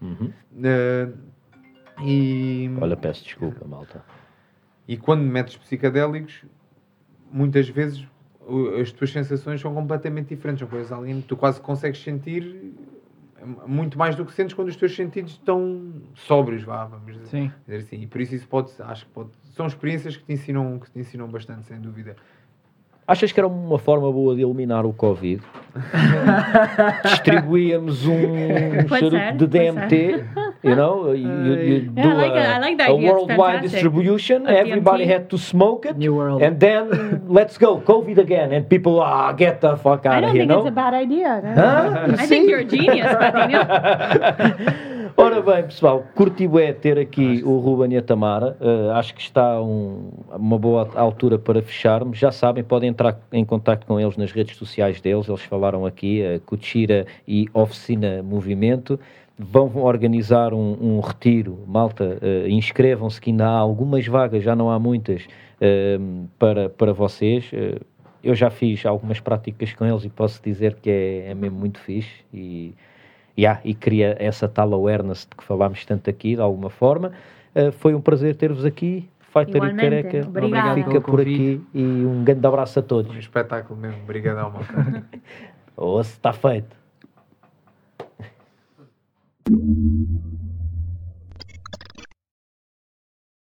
Olha, peço desculpa, malta. E quando metes psicadélicos, muitas vezes as tuas sensações são completamente diferentes. São coisas além, tu quase consegues sentir muito mais do que sentes quando os teus sentidos estão sóbrios, vamos dizer assim. E por isso acho que são experiências que te ensinam bastante, sem dúvida. Achas que era uma forma boa de eliminar o Covid? Distribuíamos charuto de DMT, you know, you do I like that a idea. It's worldwide fantastic. distribution. Of Everybody DMT. had to smoke it, New world. and then let's go COVID again, and people get the fuck I out don't of here, think it's no? a bad idea. No? Huh? I think you're a genius, Patrinho. Ora bem, pessoal, curti bué ter aqui o Ruben e a Tamara. Acho que está uma boa altura para fecharmos. Já sabem, podem entrar em contacto com eles nas redes sociais deles. Eles falaram aqui, Cuchira e Oficina Movimento. Vão organizar um retiro. Malta, inscrevam-se que ainda há algumas vagas, já não há muitas, para vocês. Eu já fiz algumas práticas com eles e posso dizer que é mesmo muito fixe e cria essa tal awareness de que falámos tanto aqui, de alguma forma. Foi um prazer ter-vos aqui. Fighter e Igualmente. Careca Obrigada. fica por aqui e um grande abraço a todos. Um espetáculo mesmo. Obrigadão, meu cara. Ou se está feito.